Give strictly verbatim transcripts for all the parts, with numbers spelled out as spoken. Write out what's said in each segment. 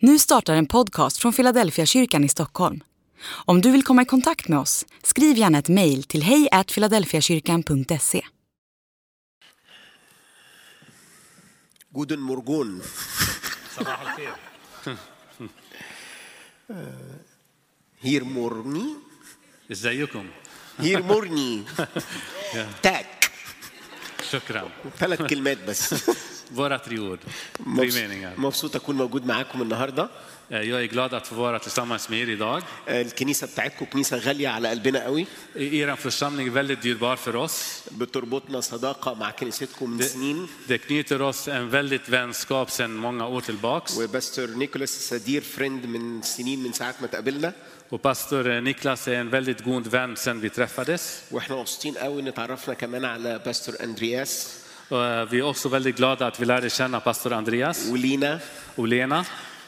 Nu startar en podcast från Philadelphia kyrkan i Stockholm. Om du vill komma i kontakt med oss, skriv gärna ett mejl till hej at philadelphiakyrkan punkt se. Guten Morgen. صباح الخير. Hier morgen. ازيكم؟ Hier morgen. Tack. شكرا. ثلاث كلمات بس. Våra tre ord. Tre meningar. مبسوط أكون موجود معاكم النهاردة. Jag är glad att få vara tillsammans med er idag. الكنيسة بتاعتكم كنيسة غالية على قلبنا قوي. Er församling är väldigt dyrbar för oss. بتربطنا صداقة مع كنيستكم من سنين. Det knyter oss en väldigt vänskap sedan många år tillbaks. وباستر نيكولاس سدير فريند من سنين من ساعة ما تقابلنا. Och pastor Niklas är en väldigt god vän sedan vi träffades. وإحنا مبسوطين قوي إن تعرفنا كمان على باستر أندرياس. Vi är också väldigt glada att vi lärde känna pastor Andreas. ولينا. Och Lena.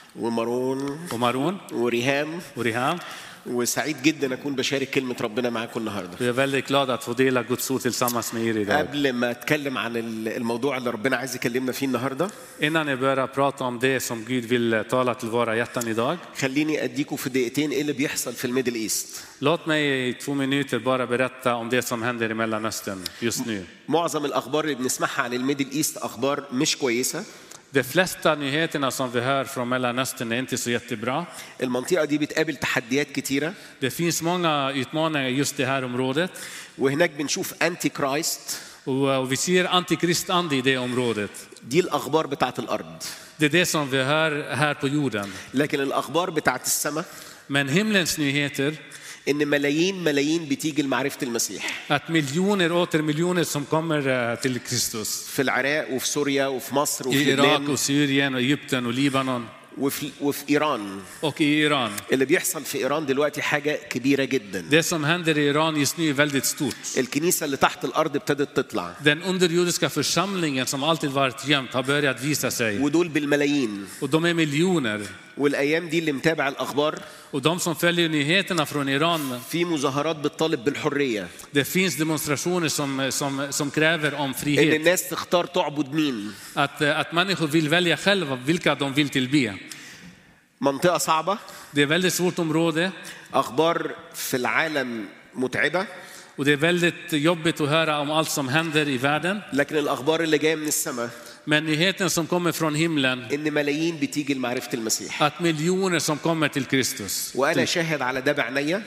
ومارون. Och Maron. وريهام. Och Riham. وسعيد جدا أكون بشارك كلمة ربنا معاكم النهاردة. Vi är väldigt glada att få dela Guds ord tillsammans med er idag. قبل ما أتكلم عن الموضوع اللي ربنا عايز يكلمنا فيه النهاردة. Innan jag börjar prata om det som Gud vill tala till våra hjärtan idag. خليني أديكم في دقيقتين إيه اللي بيحصل في الميدل إيست. Låt mig i två minuter bara berätta om det som händer i Mellanöstern just nu. معظم الأخبار اللي بنسمعها عن الميدل إيست أخبار مش كويسة. De flesta nyheterna som vi hör från Mellanöstern är inte så jättebra. المنطقة دي بتقابل تحديات كتيرة. Det finns många utmaningar just det här området. وهناك بنشوف أنتي كرايست. Och vi ser antikristande i det området. دي الأخبار بتاعت الأرض. Det är det som vi hör här på jorden. لكن الأخبار بتاعت السماء. Men himlens nyheter. إن ملايين ملايين بتيجي لمعرفة المسيح. Att miljoner åter miljoner som kommer till Kristus. في العراق وفي سوريا وفي مصر وفي I Irak och Syrien och Egypten och Libanon. وفي وفي إيران. Och i Iran. اللي بيحصل في إيران دلوقتي حاجة كبيرة جدا. Det som händer i Iran just nu är väldigt stort. الكنيسة اللي تحت الأرض ابتدت تطلع. Den underjordiska församlingen som alltid varit gömd har börjat visa sig. ودول بالملايين. Och de är miljoner. والأيام دي اللي متابع الأخبار. Och de som följer nyheterna från Iran. في مظاهرات بتطالب بالحرية. Det finns demonstrationer som som som kräver om frihet. إن الناس تختار تعبد مين. Att att människor vill välja själva vilka de vill tillbe. منطقة صعبة. Det är väldigt svårt område. أخبار في العالم متعبة. Och det är väldigt jobbigt att höra om allt som händer i världen. لكن الأخبار اللي جاية من السماء. Men nyheten som kommer från himlen. إن ملايين بتيجي لمعرفة المسيح. Att miljoner som kommer till Kristus. وأنا شاهد على ده بعناية.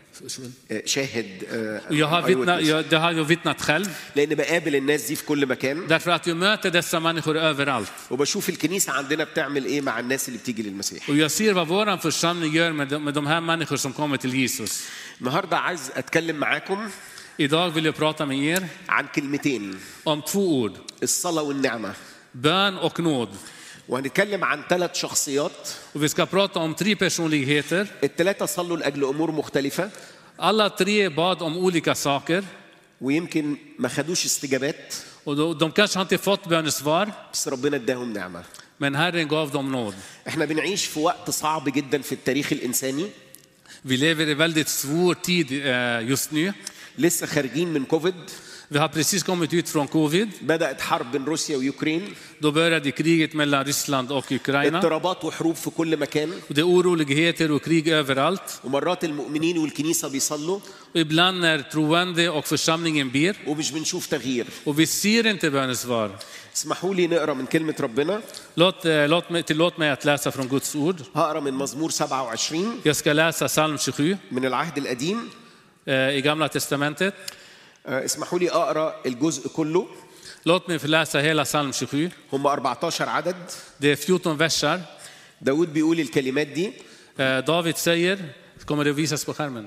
شاهد. Jag har vittnat, jag, det har jag vittnat själv. لأن بقابل الناس دي في كل مكان. Därför att jag möter dessa människor överallt. وبشوف الكنيسة عندنا بتعمل إيه مع الناس اللي بتيجي للمسيح. Och jag ser vad våran församling gör med de, med de här människor som kommer till Jesus. النهاردة عايز أتكلم معاكم. Idag vill jag prata med er. عن كلمتين. Om två ord. الصلاة والنعمة. Bön och nåd. وهنتكلم عن ثلاث شخصيات. Och vi ska prata om tre personligheter. الثلاثة صلوا لأجل أمور مختلفة. Alla tre bad om olika saker. ويمكن ما خدوش استجابات. Och de, de kanske inte fått bönesvar. بس ربنا اداهم نعمة. Men Herren gav dem nåd. احنا بنعيش في وقت صعب جدا في التاريخ الإنساني. Vi lever i väldigt svår tid just nu. لسه خارجين من كوفيد. Vi har precis kommit ut från covid. بدأت حرب بين روسيا ويوكرين. Då började kriget mellan Ryssland och Ukraina. اضطرابات وحروب في كل مكان. Och det är oroligheter och krig överallt. ومرات المؤمنين والكنيسة بيصلوا. Och ibland när troende och församlingen ber. ومش بنشوف تغيير. Och vi ser inte bönesvar. اسمحوا لي نقرأ من كلمة ربنا. Låt, låt, mig, tillåt mig att läsa från Guds ord. هقرأ من مزمور سبعة وعشرين. Jag ska läsa psalm tjugosju. من العهد القديم. I Gamla testamentet. اسمحوا لي أقرأ الجزء كله. Låt mig få läsa hela psalm tjugosju. هم أربعة عشر عدد. Det är fjorton versar. داود بيقول الكلمات دي. David säger, kommer det visas på skärmen?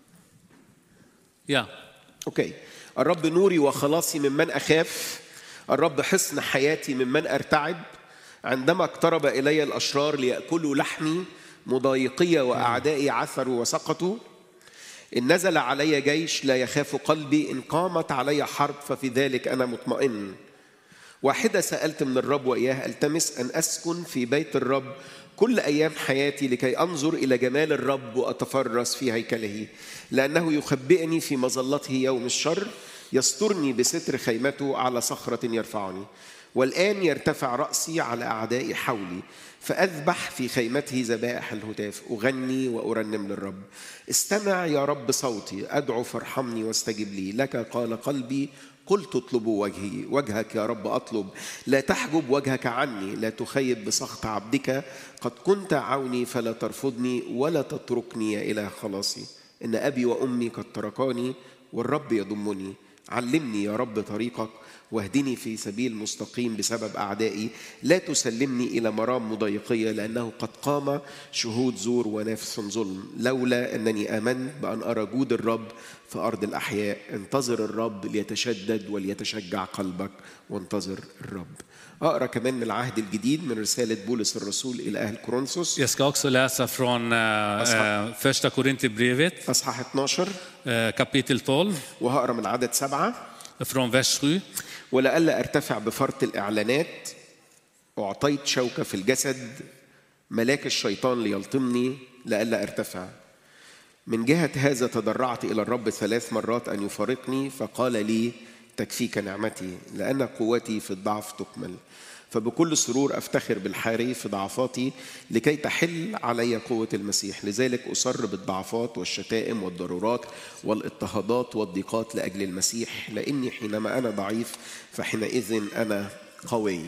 Ja. اوكي. الرب نوري وخلاصي ممن أخاف. الرب حصن حياتي ممن أرتعب. عندما اقترب إلي الأشرار ليأكلوا لحمي مضايقي وأعدائي عثروا وسقطوا. إن نزل علي جيش لا يخاف قلبي. إن قامت علي حرب ففي ذلك أنا مطمئن. واحدة سألت من الرب وإياه ألتمس أن أسكن في بيت الرب كل أيام حياتي لكي أنظر إلى جمال الرب وأتفرس في هيكله لأنه يخبئني في مظلته يوم الشر يسترني بستر خيمته على صخرة يرفعني والآن يرتفع رأسي على أعدائي حولي، فأذبح في خيمته ذبائح الهتاف، أغني وأرنم للرب. استمع يا رب صوتي، أدعو فارحمني واستجب لي. لك قال قلبي قلت اطلبوا وجهي، وجهك يا رب أطلب، لا تحجب وجهك عني، لا تخيب بسخط عبدك. قد كنت عوني فلا ترفضني، ولا تتركني يا إله خلاصي. إن أبي وأمي قد تركاني، والرب يضمني. علمني يا رب طريقك، واهدني في سبيل مستقيم بسبب أعدائي. لا تسلمني إلى مرام مضايقية، لأنه قد قام شهود زور ونافس ظلم. لولا أنني آمنت بأن أرى جود الرب في أرض الأحياء. انتظر الرب ليتشدد وليتشجع قلبك، وانتظر الرب. أقرأ كمان من العهد الجديد من رسالة بولس الرسول إلى أهل كورنثوس. Jag ska också läsa från uh, första Korinthierbrevet, أصحاح اثناشر uh, kapitel tolv, وهقرأ من عدد سبعة. från vers sju. ولألا أرتفع بفرط الإعلانات أعطيت شوكة في الجسد ملاك الشيطان ليلطمني، لألا أرتفع. من جهة هذا تضرعت إلى الرب ثلاث مرات أن يفارقني، فقال لي تكفيك نعمتي، لأن قوتي في الضعف تكمل. فبكل سرور أفتخر بالحاري في ضعفاتي، لكي تحل علي قوة المسيح. لذلك أصر بالضعفات والشتائم والضرورات والاضطهادات والضيقات لأجل المسيح، لأني حينما أنا ضعيف فحينئذ أنا قوي.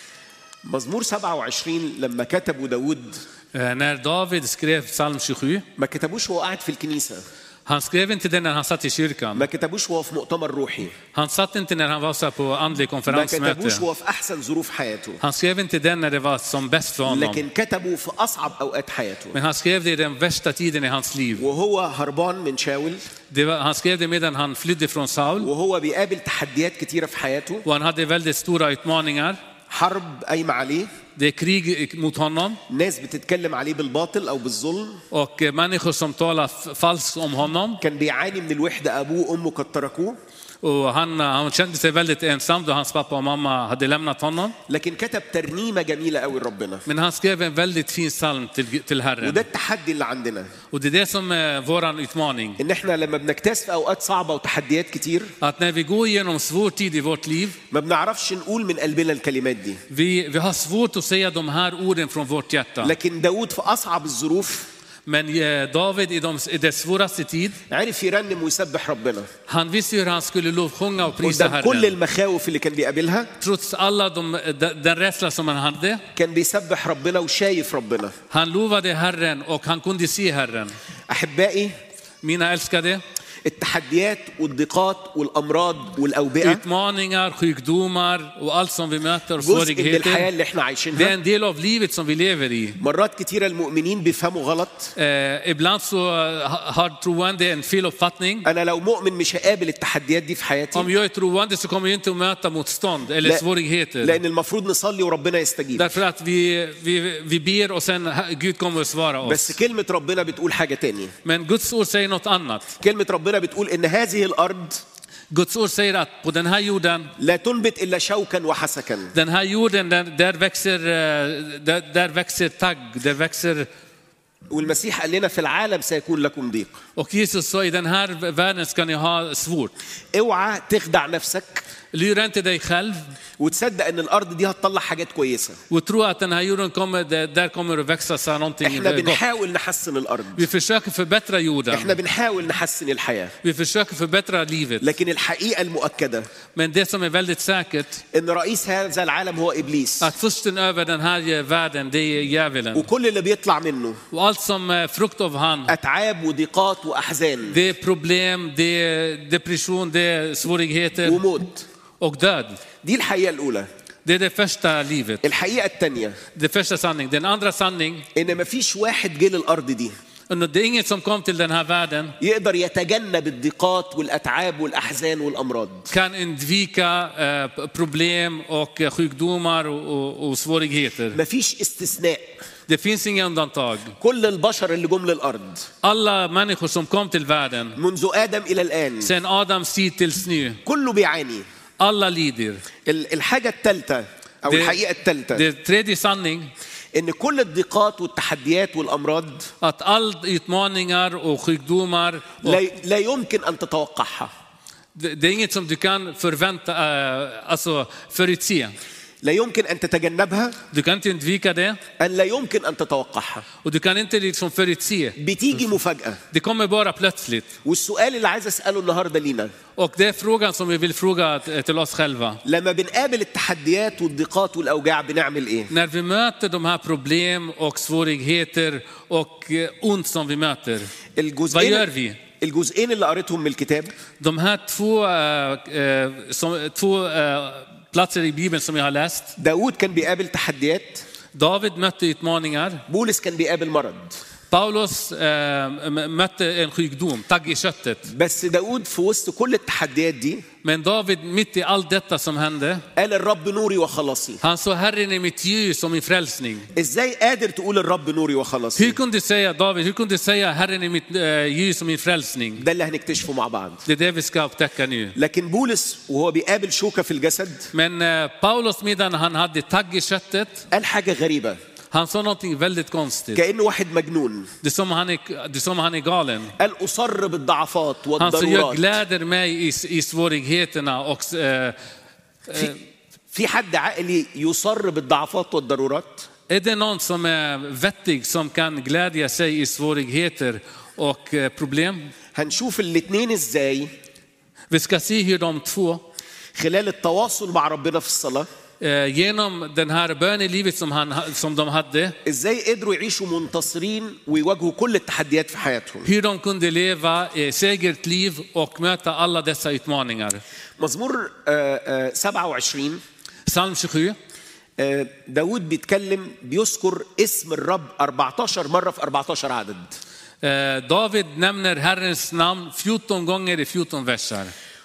مزمور سبعة وعشرين لما كتبوا داود، När David skrev psalm tjugosju, ما كتبوش وهو قاعد في الكنيسة، han skrev inte den när han satt i kyrkan. ما كتبوش وهو في مؤتمر روحي، Han satt inte när han var så på andlig ما konferensmöte. كتبوش وهو في أحسن ظروف حياته، Han skrev inte den när det var som bäst för honom. لكن كتبوا في أصعب أوقات حياته. Men han skrev det i den värsta tiden i hans liv. وهو هربان من شاول، Det var, han skrev det medan han flydde från Saul. وهو بيقابل تحديات كتيرة في حياته. Och han hade väldigt stora utmaningar. حرب قايمة عليه، Det är krig mot honom. ناس بتتكلم عليه بالباطل أو بالظلم. Och människor som talar falskt om honom. كان بيعاني من الوحدة، أبوه وأمه قد تركوه. Och han, han kände sig väldigt ensam då hans pappa och mamma hade lämnat honom. لكن كتب ترنيمة جميلة قوي لربنا. Men han skrev en väldigt fin psalm till, till Herren. وده التحدي اللي عندنا. Och det är det som är våran utmaning. إن إحنا لما بنكتاز في أوقات صعبة وتحديات كتير، Att när vi går igenom svår tid i vårt liv, ما بنعرفش نقول من قلبنا الكلمات دي. vi, vi har svårt att säga de här orden från vårt hjärta. لكن داود في أصعب الظروف Men David i, de, i det svåraste tid, عرف يرنم ويسبح ربنا han visste hur han skulle lovsjunga och prisa قدام كل Herren. المخاوف اللي كان بيقابلها. Trots alla de, den rädsla som han hade, كان بيسبح ربنا وشايف ربنا. han lovade Herren och han kunde se Herren. أحبائي، Mina älskade, التحديات والضيقات والأمراض والأوبئة utmaningar, sjukdomar och allt som vi möter, جزء من الحياة svårigheter, اللي احنا det är عايشينها. en del av livet som vi lever i. مرات كتيرة المؤمنين بيفهموا غلط. Eh, ibland så har troende en feluppfattning. أنا لو مؤمن مش هقابل التحديات دي في حياتي، Om jag är troende så kommer jag inte att möta motstånd eller لا- svårigheter. لأن المفروض نصلي وربنا يستجيب. Därför att vi, vi, vi ber och sen Gud kommer att svara بس oss. كلمة ربنا بتقول حاجة تانية. Men Guds ord säger något annat. كلمة ربنا بتقول إن هذه الأرض Guds ord säger att på den här jorden, لا تنبت إلا شوكا وحسكا. den här jorden, där, där, växer, eh, där, där växer tagg, där växer. والمسيح قال لنا في العالم سيكون لكم ضيق. Och Jesus sa i den här världen ska ni ha svårt. اوعى تخدع نفسك Lura inte dig själv وتصدق ان الارض دي هتطلع حاجات كويسه. och tro att den här jorden kommer, där, där kommer att växa sig någonting احنا gott. بنحاول نحسن الارض، Vi försöker förbättra jorden. احنا بنحاول نحسن الحياه، Vi försöker förbättra livet. لكن الحقيقه المؤكده Men det som är väldigt säkert, ان رئيس هذا العالم هو ابليس، att försten över den här världen, det är djävulen. وكل اللي بيطلع منه Och allt som är frukt av han, اتعاب وضيقات واحزان det är problem, det är depression, det är svårigheter وموت. och död. دي الحقيقه الاولى. Det är det första livet. الحقيقه الثانيه Det första sanning. Den andra sanning, ان مفيش واحد جه للارض دي det är inget som kom till den här världen يقدر يتجنب الضيقات والاتعاب والاحزان والامراض. kan undvika eh, problem och eh, sjukdomar och, och, och svårigheter. مفيش استثناء. Det finns inga undantag. كل البشر اللي جم للارض Alla människor som kom till världen منذ ادم الى الان sen Adams tid tills nu, كله بيعاني. alla lider. ال- الحاجه الثالثه او Det, الحقيقه الثالثه det tredje sanning, ان كل الضيقات والتحديات والامراض att all utmaningar och sjukdomar, och لا, لا يمكن ان تتوقعها. det, det är inget som du kan förvänta, äh, alltså förutse. لا يمكن أن تتجنبها، Du kan inte undvika det. أن لا يمكن أن تتوقعها. Och du kan inte liksom förutse. بتيجي مفاجأة. Det kommer bara plötsligt. والسؤال اللي عايز أسأله النهاردة لينا، Och det är frågan som vi vill fråga till oss själva. لما بنقابل التحديات والضيقات والأوجاع بنعمل إيه؟ När vi möter de här problem och svårigheter och ont som vi möter, vad gör vi? الجزئين اللي قريتهم من الكتاب De här två, äh, som, två äh, platser i Bibeln som jag har läst. داود كان بيقابل تحديات، David mötte utmaningar. بولس كان بيقابل مرض. Paulus äh, mötte en sjukdom, tagg i köttet. بس داود في وسط كل التحديات دي Men David, mitt i allt detta som hände, قال الرب نوري وخلاصي. han sa Herren är mitt ljus och min frälsning. ازاي قادر تقول الرب نوري Hur وخلاصي؟ kunde du säga, David, hur kunde du säga Herren är mitt äh, ljus och min frälsning? ده اللي هنكتشفه مع بعض. Det är det vi ska upptäcka nu. لكن بولس وهو بيقابل شوكة في الجسد Men äh, Paulus, medan han hade tagg i köttet, قال حاجة غريبة، han sa någonting väldigt konstigt. كأنه واحد مجنون. Det är som han är, det är som han är galen. قال أصر بالضعفات Han sa, jag والضرورات. gläder mig i, i svårigheterna och äh, في, في حد عاقل يصر بالضعفات والضرورات؟ är det någon som är vettig som kan glädja sig i svårigheter och äh, problem? هنشوف الاثنين ازاي Vi ska se hur de två خلال التواصل مع ربنا في الصلاة genom den här bönelivet som, han, som de hade, ازاي قدروا يعيشوا منتصرين ويواجهوا كل التحديات في حياتهم. hur de kunde leva ett säkert liv och möta alla dessa utmaningar. مزمور آه، آه، سبعة وعشرين Psalm tjugosju. آه، داود بيتكلم بيذكر اسم الرب أربعة عشر مرة في أربعة عشر عدد. Eh, David nämner Herrens namn fjorton gånger i fjorton versar.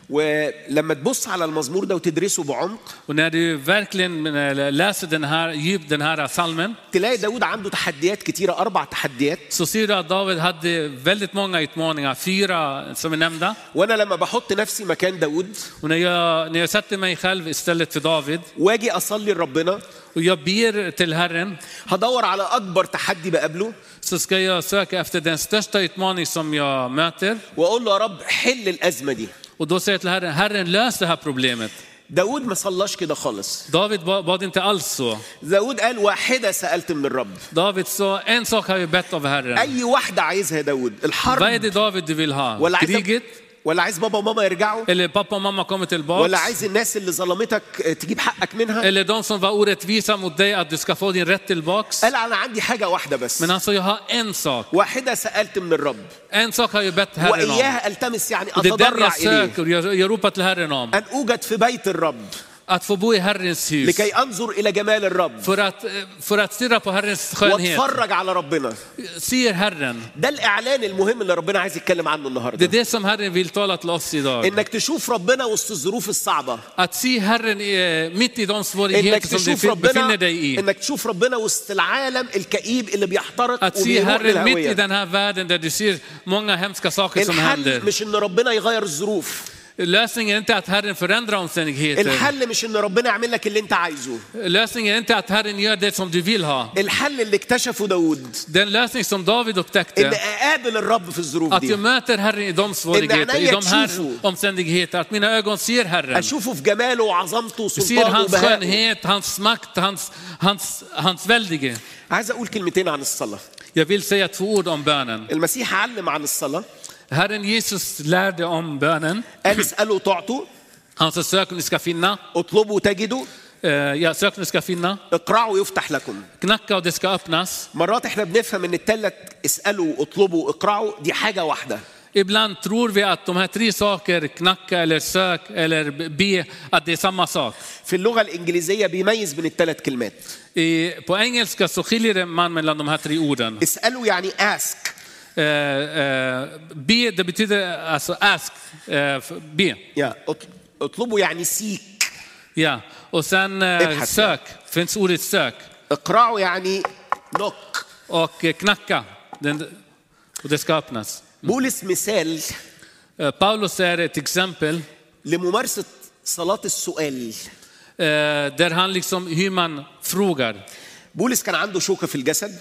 ولما تبص على المزمور ده وتدرسه بعمق Och när du verkligen läser den här djup den här psalmen, تلاقي داود عنده تحديات كتيرة، أربع تحديات. så ser du att David hade väldigt många utmaningar, fyra som är nämnda. وأنا لما بحط نفسي مكان داود Och när jag, när jag sätter mig själv istället för David واجي أصلي لربنا och jag ber till Herren, هدور على أكبر تحدي بقابله så ska jag söka efter den största utmaning som jag möter. وأقول له يا رب حل الأزمة دي. Och då säger jag till Herren, Herren lös det här problemet. داود ما صلاش كده خالص. David bad inte alls så. داود قال واحدة سألت من الرب. David sa, en sak har jag bett av Herren. أي واحدة عايزها داود؟ Vad är الحرب det David du vill ha? ولا عايز Kriget? ولا عايز بابا وماما يرجعوا Eller pappa och mamma kommer ولا tillbaka? عايز الناس اللي ظلمتك تجيب حقك منها؟ Eller de som var orättvisa mot dig, att du ska få din rätt tillbaks? قال أنا عندي حاجة واحدة بس. Men han sa, jag har en sak. واحدة سألت من الرب En sak har jag bett Herren om. وإياها ألتمس يعني Och det är den أتضرع jag إليه söker, jag, jag ropar till Herren om. أن أوجد في بيت الرب Att få bo i Herrens hus. لكي أنظر إلى جمال الرب För att, för att stirra på Herrens skönhet. واتفرج على ربنا. Ser Herren. ده الإعلان المهم اللي ربنا عايز يتكلم عنه Det är النهارده. det som Herren vill tala till oss idag. إنك تشوف ربنا وسط الظروف الصعبة. Att se Herren eh, mitt i de إنك svårigheter som تشوف du ربنا befinner dig i. إنك تشوف ربنا وسط العالم الكئيب اللي بيحترق Att se وبيروح Herren mitt i للهوية. den här världen där du ser många hemska saker som händer. الحل مش إن ربنا يغير الظروف. Lösningen är inte att Herren förändrar omständigheter. الحل مش إن ربنا يعمل لك اللي أنت عايزه. Lösningen är inte att Herren gör det som du vill ha. الحل اللي اكتشفه داود Den lösning som David إن upptäckte, أقابل الرب في الظروف att jag دي. möter Herren i de svårigheter, i de här omständigheter, att mina ögon ser Herren. أشوفه في جماله وعظمته Ser وسلطانه hans وبهائه. skönhet, hans makt, hans, hans, hans väldige. عايز أقول كلمتين عن الصلاة. Jag vill säga två ord om bönen. المسيح علم عن الصلاة. Herren Jesus lärde om bönen. قال اسألوا تعطوا، Han sa, sök och ni ska finna. اطلبوا تجدوا، Eh, Ja, sök och ni ska finna. اقرعوا يفتح لكم. Knacka och det ska öppnas. مرات احنا بنفهم ان الثلاث اسألوا اطلبوا اقرعوا دي حاجة واحدة. Ibland tror vi att de här tre saker, knacka eller sök eller be, att det är samma sak. في اللغة الإنجليزية بيميز بين الثلاث كلمات. I, på engelska så skiljer man mellan de här tre orden. اسألوا يعني ask. Eh, eh, be, det betyder alltså ask, eh, be. Ja, اط- اطلبوا يعني seek. Ja. Och sen eh, Ibhas, sök, finns ordet sök. اقرعوا يعني knock. Och eh, knacka, den, och det ska öppnas. بولس مثال Eh, Paulus är ett exempel لممارسة صلاة السؤال. eh, där han liksom hur man frågar. بولس كان عنده شوكة في الجسد.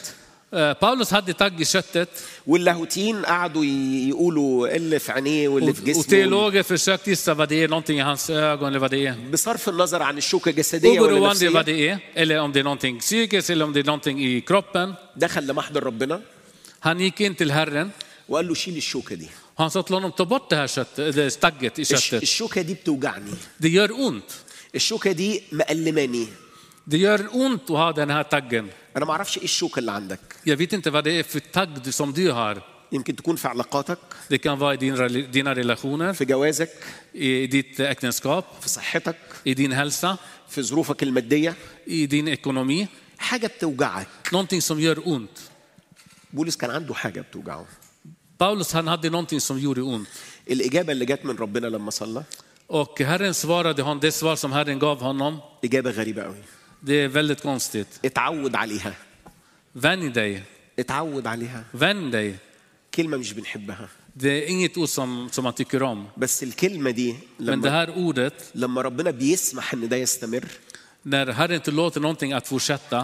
Paulus hade tagg i köttet. واللاهوتيين قعدوا يقولوا اللي في عينيه واللي في جسمه. وteologer försökte gissa vad det är, någonting i hans ögon eller vad det är. بصرف النظر عن الشوكة جسدية ولا نفسية. vad det är, eller om det är någonting psykiskt eller om det är någonting i kroppen. دخل لمحضر ربنا. Han gick in till Herren. وقال له شيل الشوكة دي. Han sa till honom, ta bort det här köttet, det stagget i köttet. الشوكة دي بتوجعني. Det gör ont. الشوكة دي مألماني. Det gör ont att ha den här taggen. أنا ما أعرفش إيه الشوكة اللي عندك. Jag vet inte vad det är för tagg som du har. يمكن تكون في علاقاتك. Det kan vara i din, dina relationer. في جوازك. I ditt äktenskap. في صحتك. I din hälsa. في ظروفك المادية. I din ekonomi. حاجة بتوجعك. Någonting som gör ont. بولس كان عنده حاجة بتوجعه. Paulus han hade någonting som gjorde ont. الإجابة اللي جت من ربنا لما صلى. Och Herren svarade honom, det svar som Herren gav honom. إجابة غريبة قوي. Det är väldigt konstigt. اتعود عليها. Vänj dig. اتعود عليها. Vänj dig. كلمة مش بنحبها. Det är inget ord som, som man tycker om. بس الكلمة دي لما, Men det här ordet, لما ربنا بيسمح إن ده يستمر. När Herren tillåter någonting att fortsätta.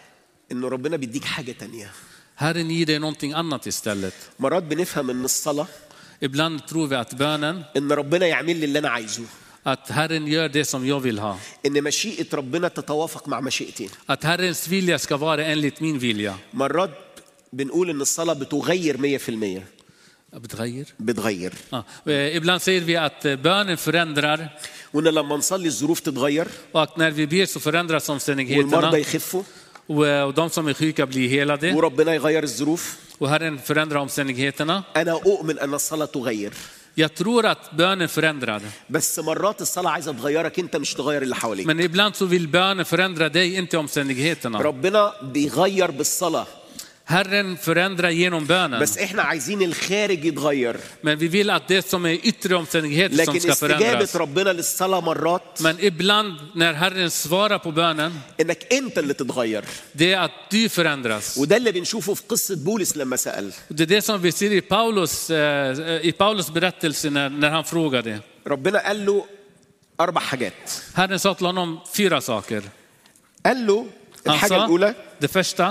إنه ربنا بيديك حاجة تانية. Herren ger dig någonting annat istället. مرات بنفهم إن الصلاة. Ibland tror vi att bönen. إن ربنا يعمل لي اللي أنا عايزه. Att Herren gör det som jag vill ha. إن مشيئة ربنا تتوافق مع مشيئتي. Att Herrens vilja ska vara enligt min vilja. مرات بنقول إن الصلاة بتغير مية في المية. بتغير. بتغير. Ah. Ibland säger vi att bönen förändrar. وإن لما نصلي الظروف تتغير. Och när vi ber så förändras omständigheterna. والمرضى يخفوا. Och de som är sjuka blir helade. وربنا يغير الظروف. Och Herren förändrar omständigheterna. أنا أؤمن أن الصلاة تغير. Jag tror att bönen förändrar. بس مرات الصلاة عايزة تغيرك أنت مش تغير اللي حواليك. Men ibland så vill bönen förändra dig, inte omständigheterna. ربنا بيغير بالصلاة. Herren förändrar genom bönen. بس إحنا عايزين الخارج يتغير. Men vi vill att det som är yttre omständigheter som ska förändras. لكن استجابة ربنا للصلاة مرات. Men ibland när Herren svarar på bönen. إنك أنت اللي تتغير. Det är att du förändras. وده اللي بنشوفه في قصة بولس لما سأل. Det är det som vi ser i Paulus i Paulus berättelse när när han frågade. ربنا قال له أربع حاجات. Herren sa till honom fyra saker. قال له الحاجة الأولى. Det första.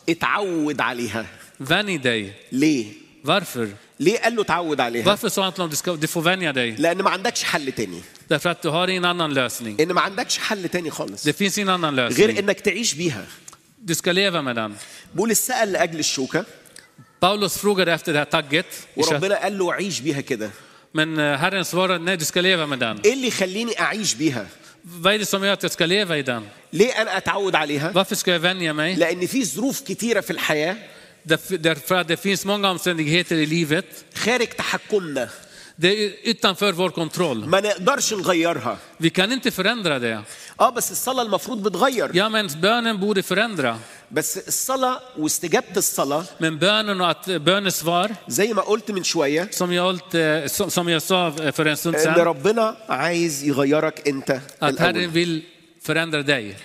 اتعود عليها. Vänj dig. ليه؟ Varför? ليه قال له تعود عليها؟ Varför sa han till honom du ska du får vänja dig? لأن ما عندكش حل تاني. Därför att du har ingen annan lösning. إن ما عندكش حل تاني خالص. Det finns ingen annan lösning. غير إنك تعيش بيها. Du ska leva med den. بولس سأل لأجل الشوكة. Paulus frågade efter det här tagget. وربنا قال له عيش بيها كده. Men Herren svarade nej, du ska leva med den. إيه اللي يخليني أعيش بيها؟ Vad är det som gör att jag ska leva i den? ليه أنا أتعود عليها؟ Varför ska jag vänja mig? لأن في ظروف كتيرة في الحياة. Därför att det finns många omständigheter i livet. خارج تحكمنا. Det är utanför vår kontroll. ما نقدرش نغيرها. Vi kan inte förändra det. اه بس الصلاة المفروض بتغير. Ja, men bönen borde förändra. بس الصلاة واستجابة الصلاة. Men bönen och att bönesvar. زي ما قلت من شوية. Som jag som jag sa för en stund sedan. إن ربنا عايز يغيرك أنت. Att Herren vill förändra dig.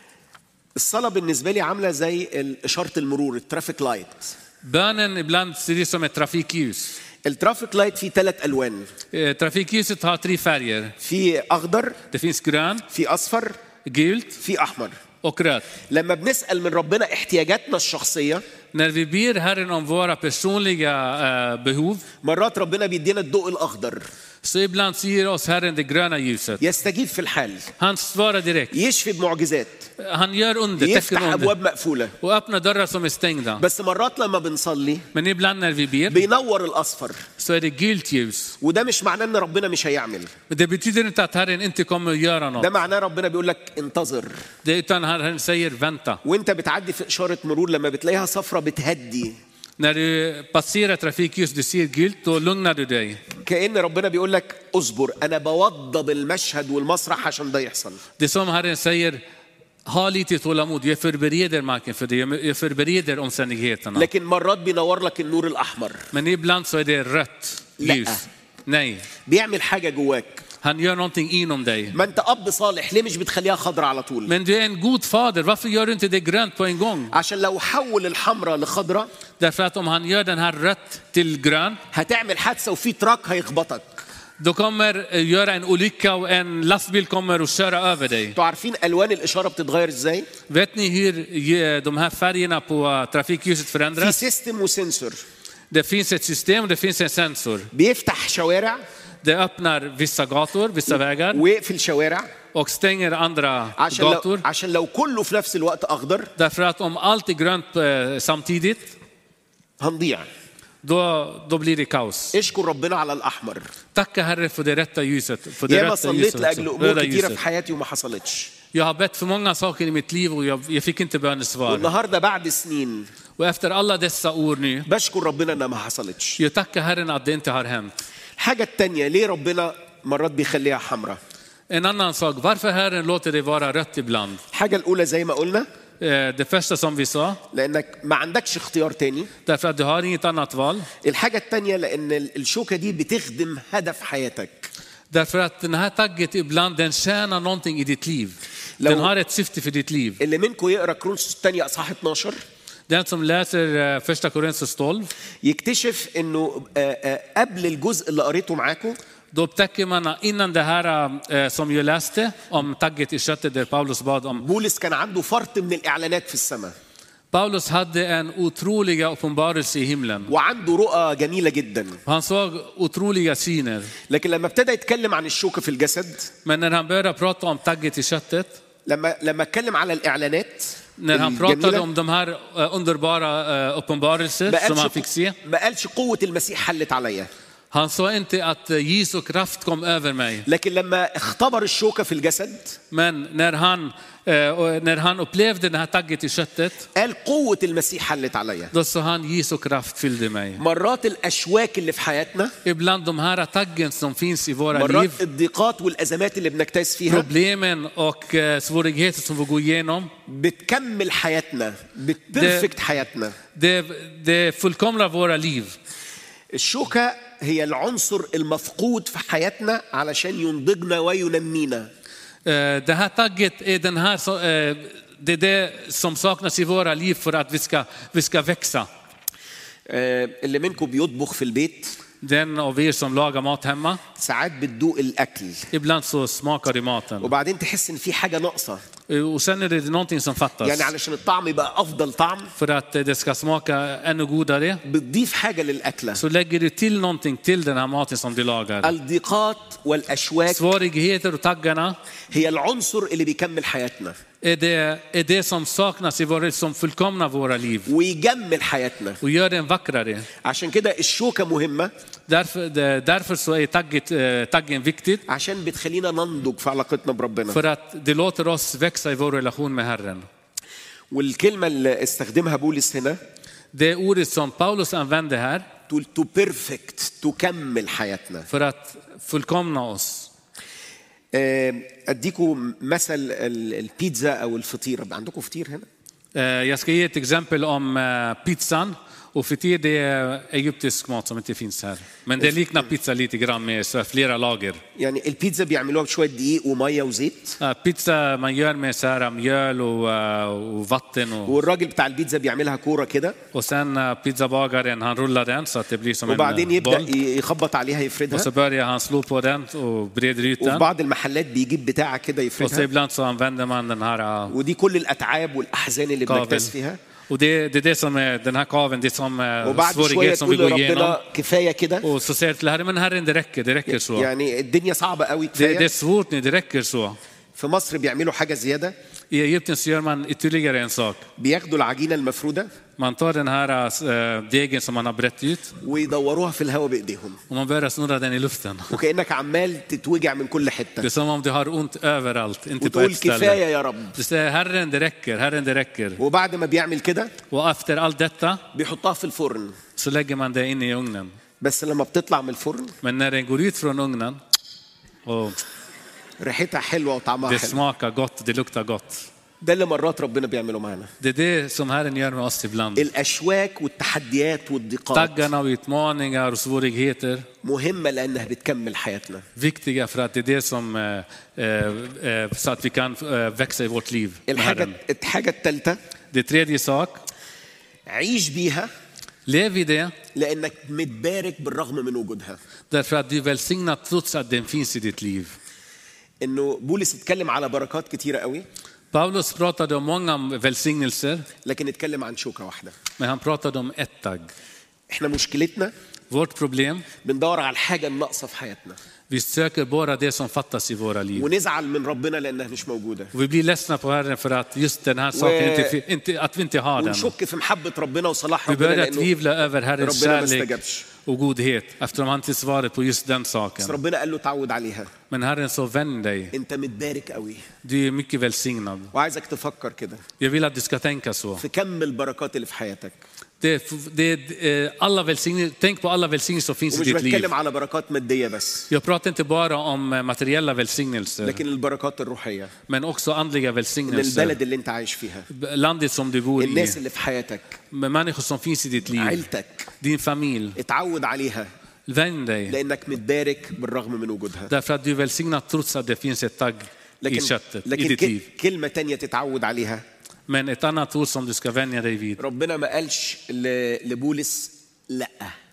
الصلاة بالنسبة لي عاملة زي إشارة المرور الترافيك لايت. Bönen ibland ser ut som ett trafikljus. الترافيك لايت فيه ثلاث ألوان. Trafikljuset har tre färger. في أخضر. Det finns grön. في أصفر. Gult. في أحمر. Och rött. لما بنسأل من ربنا احتياجاتنا الشخصية. När vi ber Herren om våra personliga uh, behov. مرات ربنا بيدينا الضوء الأخضر. Så ibland ger oss Herren det gröna ljuset. يستجيب في الحال. Han svarar direkt. يشفي بمعجزات. Han gör under. يفتح أبواب مقفولة. Och öppnar dörrar som är stängda. بس مرات لما بنصلي. Men ibland när vi ber. بينور الأصفر. Så är det gult ljus. وده مش معناه إن ربنا مش هيعمل. Det betyder inte att Herren inte kommer att göra något. ده معناه ربنا بيقول لك انتظر. Det utan Herren säger vänta. وأنت بتعدي في إشارة مرور لما بتلاقيها صفرة بتهدي. När du passerar trafikljus du ser gult då lugnar du dig. كأن ربنا بيقول لك اصبر أنا بوضب المشهد والمسرح عشان ده يحصل. Det som Herren säger ha lite tålamod. Jag förbereder marken för det. Jag förbereder omständigheterna. لكن مرات بينور لك النور الأحمر. Men ibland så är det rött ljus. Nej. بيعمل حاجة جواك. Han gör någonting inom dig. ما أنت أب صالح ليه مش بتخليها خضرة على طول؟ Men du är en god fader. Varför gör du inte det grönt på en gång? عشان لو حول الحمراء لخضرة. Därför att om han gör den här rött till grön. هتعمل حادثة وفي تراك هيخبطك. Då kommer göra en olycka och en lastbil kommer och köra över dig. انتوا عارفين الوان الاشاره بتتغير ازاي؟ Vet ni hur de här färgerna på trafikljuset في förändras? سيستم وسنسور Det finns ett system och det finns en sensor. بيفتح شوارع Det öppnar vissa gator, vissa vägar ويقفل شوارع och stänger andra عشان لو gator. عشان لو كله في نفس الوقت اخضر Därför att om allt är grönt eh, samtidigt, هنضيع. då, då blir det kaos. اشكر ربنا على الاحمر. Tacka Herre för det rätta ljuset. För det ياما rätta صليت ljuset لاجل också, امور röda كتيره ljuset. في حياتي وما حصلتش. Jag har bett för många saker i mitt liv och jag, jag fick inte bönesvar. والنهارده بعد سنين Och efter alla dessa år nu, بشكر ربنا انها ما حصلتش. jag tackar Herren att det inte har hänt. الحاجه الثانيه ليه ربنا مرات بيخليها حمراء؟ En annan sak, varför Herren låter det vara rött ibland? الحاجه الاولى زي ما قلنا Eh, Det första som vi sa, لانك ما عندكش اختيار تاني. därför att du har inget annat val. الحاجه الثانيه لان الشوكه دي بتخدم هدف حياتك. Därför att den här tagget ibland, den tjänar någonting i ditt liv. لو- Den har ett syfte för ditt liv. اللي منكم يقرا كرونسوس الثانيه اصحاح اتناشر Den som läser eh, första Korinthos tolv, يكتشف انه آه، آه، قبل الجزء اللي قريته معاكم då upptäcker man att innan det här eh, som jag läste om tagget i köttet där Paulus bad om. بولس كان عنده فرط من الاعلانات في السماء Paulus hade en otroliga uppenbarelse i himlen. وعنده رؤى جميله جدا. Han såg otroliga syner. لكن لما ابتدى يتكلم عن الشوكه في الجسد Men när han började prata om tagget i köttet, لما لما اتكلم على الاعلانات när han pratade الجميلة، om de här eh, underbara eh, uppenbarelser ما som han قالش fick se, ما قالش قوه المسيح حلت عليا. han sa inte att eh, Jesu kraft kom över mig. لكن لما اختبر الشوكه في الجسد Men när han, eh, och när han upplevde det här tagget i köttet, قال قوه المسيح حلت عليا. då sa han Jesu kraft fyllde mig. مرات الاشواك اللي في حياتنا، Ibland de här taggen som finns i våra liv, مرات الضيقات والازمات اللي بنجتاز فيها problemen och eh, svårigheter som vi går igenom, بتكمل حياتنا، بتبرفكت حياتنا. det, det fullkomnar våra liv. الشوكة هي العنصر المفقود في حياتنا علشان ينضجنا وينمينا. Eh, Det här tagget är den här, så- eh, det är det som saknas i våra liv för att vi ska, vi ska växa. آه، اللي منكم بيطبخ في البيت Den av er som lagar mat hemma, ساعات بتدوق الأكل ibland så smakar det maten. وبعدين تحس إن في حاجة ناقصة، Eh, Och sen är det någonting som fattas. يعني علشان الطعم يبقى أفضل طعم För att eh, det ska smaka ännu godare, بتضيف حاجة للأكلة. så lägger du till någonting till den här maten som du lagar. الضيقات والأشواك Svårigheter och taggarna هي العنصر اللي بيكمل حياتنا är det, är det som saknas i våra, som fullkomnar våra liv ويجمل حياتنا. och gör den vackrare. عشان كده الشوكة مهمة Därför, det, därför så är tagget, eh, taggen viktigt. عشان بتخلينا ننضج في علاقتنا بربنا. För att det låter oss växa i vår relation med Herren. والكلمة اللي استخدمها بولس هنا Det ordet som Paulus använde här, to, to perfect تكمل حياتنا. för att fullkomna oss. آه، أديكم مثل ال- البيتزا أو الفطيرة. عندكم فطير هنا؟ Eh, Jag ska ge ett exempel om eh, pizzan. Och fitir det är egyptisk mat som inte finns här. Men det liknar pizza lite grann med så här flera lager. يعني البيتزا بيعملوها بشوية دقيق ومية وزيت، Eh, Pizza man gör med så här mjöl och, eh, och vatten. Och, والراجل بتاع البيتزا بيعملها كورة كده och sen eh, pizzabagaren han rullar den så att det blir som وبعدين en يبدأ boll. ي- يخبط عليها Och يفردها. så börjar han slå på den och breder ut وفي den. بعض المحلات بيجيب بتاعة كده Och så يفردها. ibland så använder man den här eh, ودي كل الأتعاب والأحزان اللي kaven. بنجتاز فيها. Och det, det är det som är den här kaven, det är som är وبعد شوية svårighet som vi تقول går igenom. لربنا كفاية كده، Och så säger jag till Herren, men Herren det räcker, det räcker så. يعني الدنيا صعبة قوي Det, det är كفاية. svårt nu, det räcker så. في مصر بيعملوا حاجة زيادة، I Egypten så gör man ytterligare en sak. بياخدوا العجينة المفرودة Man tar den här äh, degen som man har brett ut ويدوروها في الهواء بإيديهم، och man börjar snurra den i luften. وكأنك عمال تتوجع من كل Det حتة är som om du har ont överallt, inte på وتقول ett ställe. كفاية يا رب. Du säger Herren det räcker, Herren det räcker. وبعد ما بيعمل كده Och efter allt detta بيحطها في الفرن، så lägger man det in i ugnen. بس لما بتطلع من الفرن Men när den går ut från ugnen och ريحتها حلوة وطعمها det حلو. smakar gott, det luktar gott. ده اللي مرات ربنا بيعمله معانا. Det är det som Herren gör med oss ibland. الأشواك والتحديات والضيقات Taggarna och utmaningar och svårigheter, مهمة لأنها بتكمل حياتنا. viktiga för att det är det som eh, eh, så att vi kan eh, växa i vårt liv med الحاجة Herren. الحاجة الثالثة Det tredje sak, عيش بيها lev Lev i det لانك متبارك بالرغم من وجودها. därför att du är välsignad trots att den finns i ditt liv. انه بولس اتكلم على بركات كتيره قوي Paulus pratade om många välsignelser, لكن اتكلم عن شوكه واحده. men han pratade om ett tagg. احنا مشكلتنا Vårt problem, بندور على الحاجه الناقصه في حياتنا vi söker bara det som fattas i våra liv. ونزعل من ربنا لانها مش موجوده Och vi blir ledsna på Herren för att just den här saken inte, inte, att vi inte har den. ونشك في محبه ربنا وصلاح Vi ربنا börjar لانه tvivla över Herrens ربنا ما kärlek استجابش. och godhet eftersom han inte svarar på just den بس saken. ربنا قال له تعود عليها. Men Herren så vänd dig, انت متبارك قوي. du är mycket välsignad. وعايزك تفكر كده Jag vill att du ska tänka så. في كم البركات اللي في حياتك. Det, det, eh, alla välsignelser, tänk på alla välsignelser som finns i ومش ditt liv. بتكلم على بركات ماديه بس Jag pratar inte bara om eh, materiella välsignelser, لكن البركات الروحيه. men också andliga من välsignelser. البلد اللي انت عايش فيها. Landet som du bor الناس i, اللي في حياتك. med människor som finns i ditt liv, عيلتك. din familj. اتعود عليها Vänd dig, لانك متبارك بالرغم من وجودها. därför att du är välsignad trots att det finns ett tagg i لكن köttet, i لكن ditt ك- liv. كلمه تانية تتعود عليها. Men ett annat ord som du ska vänja dig vid. ربنا ما قالش ل- لبولس لا.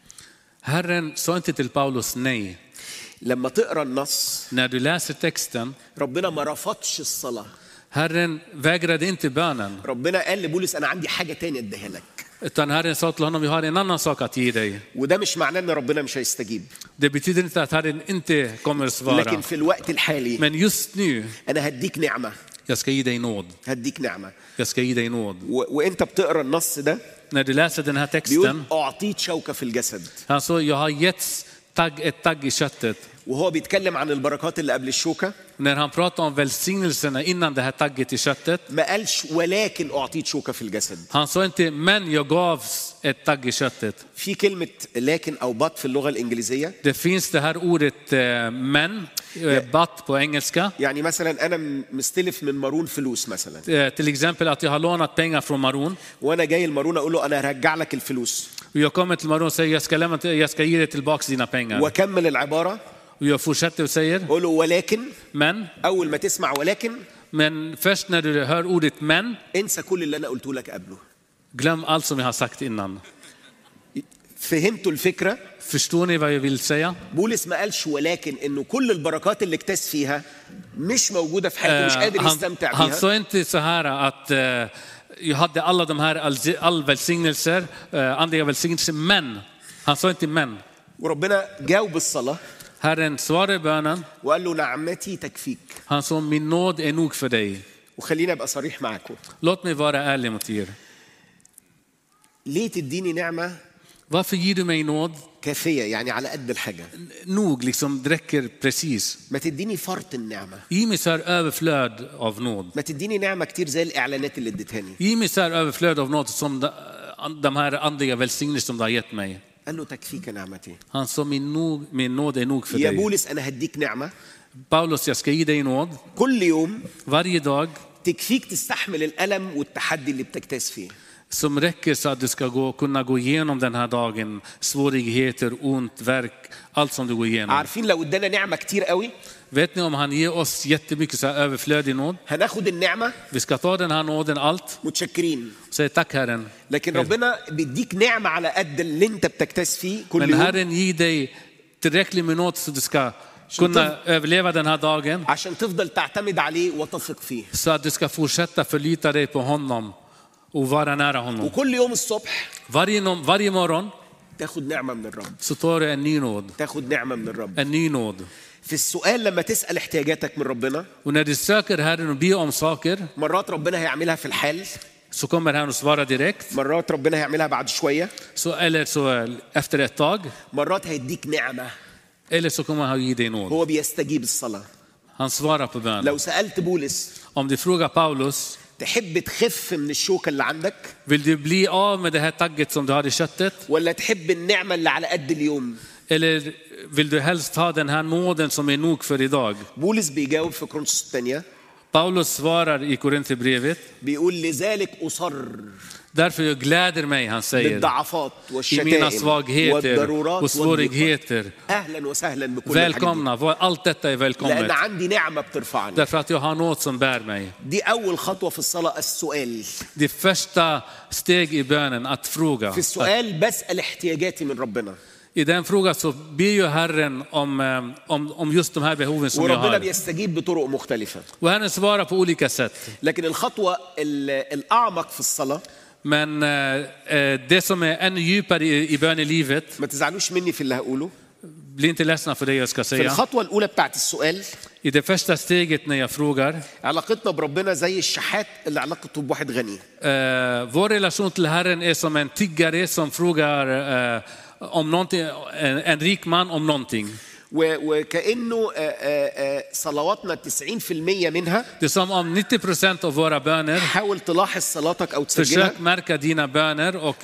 Herren sa inte till Paulus nej. لما تقرا النص När du läser texten, ربنا ما رفضش الصلاه. Herren vägrade inte bönen. ربنا قال لبولس انا عندي حاجه تانية اديها لك. Utan Herren sa till honom, vi har en annan sak att ge dig. وده مش معناه ان ربنا مش هيستجيب. Det betyder inte att Herren inte kommer att svara. لكن في الوقت الحالي Men just nu, انا هديك نعمه. jag ska ge dig nåd. هديك نعمه. Jag ska ge dig nåd. و... وانت بتقرا النص ده När du läser den här بيقول texten, اعطيت شوكه في الجسد. han sa, jag har getts tagg, ett tagg i köttet. وهو بيتكلم عن البركات اللي قبل الشوكه När han pratar om välsignelserna innan det här tagget i köttet, ما قالش ولكن اعطيت شوكه في الجسد. han sa inte, men jag gavs ett tagg i köttet. في كلمه لكن او بط في اللغه الانجليزيه. Det finns det här ordet eh, men, eh, but på engelska. يعني مثلا انا مستلف من مارون فلوس مثلا Eh, till exempel att jag har lånat pengar från Maron. وانا جاي المارون اقول له انا هرجع لك الفلوس Och jag kommer till Maron och säger, jag ska, lämna, jag ska ge dig tillbaka dina pengar. واكمل العباره Och jag fortsätter och säger, اقول له ولكن men, اول ما تسمع ولكن men först när du hör ordet men, انسى كل اللي انا قلته لك قبله. glöm allt som jag har sagt innan. فهمتوا الفكره؟ Förstår ni vad jag vill säga? بولس ما قالش ولكن انه كل البركات اللي اكتاز فيها مش موجوده في حياته مش Eh, قادر han, يستمتع han بيها. sa inte så här att eh, jag hade alla de här all, all välsignelser, eh, andliga välsignelser, men. Han sa inte men. وربنا جاوب الصلاه Herren svarade bönen. وقال له نعمتي تكفيك. Han sa, min nåd är nog för dig. وخلينا ابقى صريح معاكم. Låt mig vara ärlig mot er. ليه تديني نعمه Varför ger du mig nåd? كافيه يعني على قد الحاجه؟ Nog, liksom, det räcker precis. ما تديني فرط النعمه. Ge mig så här överflöd av nåd. ما تديني نعمه كتير زي الاعلانات اللي اديتهاني. Ge mig så här överflöd av nåd som de, de här andliga välsignelser som du har gett mig. قال له تكفيك نعمتي. Han sa, min, nog, min nåd är nog för يا dig. بولس انا هديك نعمه Paulus, jag ska ge dig nåd كل يوم varje dag تكفيك تستحمل الالم والتحدي اللي بتجتاز فيه. som räcker så att du ska gå, kunna gå igenom den här dagen. Svårigheter, ont, verk, allt som du går igenom. عارفين لو ادانا نعمه كتير قوي Vet ni om han ger oss jättemycket så här överflödig nåd? هناخد النعمه Vi ska ta den här nåden allt. متشكرين. Säg tack Herren. لكن ربنا بيديك نعمه على قد اللي انت بتجتاز فيه كل Men يوم Herren ger dig tillräckligt med nåd så du ska kunna överleva den här dagen. عشان تفضل تعتمد عليه وتثق فيه. Så att du ska fortsätta förlita dig på honom och vara nära honom. وكل يوم الصبح Varje, no- varje morgon تاخد نعمه من الرب. så tar du en ny nåd. تاخد نعمه من الرب. En ny nåd. في السؤال لما تسال احتياجاتك من ربنا Och när du söker Herren och ber om saker مرات ربنا هيعملها في الحال. så kommer Herren att svara direkt. مرات ربنا هيعملها بعد شويه. Så, eller så efter ett tag. مرات هيديك نعمه. Eller så kommer han ge dig nåd. هو بيستجيب الصلاه. Han svarar på bön. لو سالت بولس Om du frågar Paulus, تحب تخف من الشوكه اللي عندك vill du bli av med det här tagget som du har i köttet? ولا تحب النعمه اللي على قد اليوم؟ Eller vill du helst ha den här nåden som är nog för idag? بولس بيجاوب في كورنثوس الثانيه Paulus svarar i Korinthierbrevet. بيقول لذلك اصر. Därför jag gläder mig, han säger, بالضعفات i mina والشتائم svagheter والضرورات och svårigheter. أهلا وسهلا بكل الحاجات Välkomna, allt detta är دي. لأن välkommet. عندي نعمة بترفعني. Därför att jag har något som bär mig. دي أول خطوة في الصلاة، السؤال. Det första steg i bönen, att fråga. في السؤال بسأل احتياجاتي من ربنا. I den frågan så ber ju Herren om, om, om just de här behoven som jag وربنا har. بيستجيب بطرق مختلفة. Och Herren svarar på olika sätt. لكن الخطوة ال- الأعمق في الصلاة، Men eh, det som är ännu djupare i, i bönelivet, ما تزعلوش مني في اللي هقوله، bli inte ledsna för det jag ska في säga. الخطوة الأولى بتاعت السؤال I det första steget när jag frågar, علاقتنا بربنا زي الشحات اللي علاقته بواحد غني. eh, vår relation till Herren är som en tiggare som frågar eh, om någonting, en, en rik man om någonting. و- وكأنه آه، آه، آه، صلواتنا تسعين في المية منها، Det är som om nittio procent av våra böner, حاول تلاحظ صلاتك أو تسجلها، försök märka dina böner och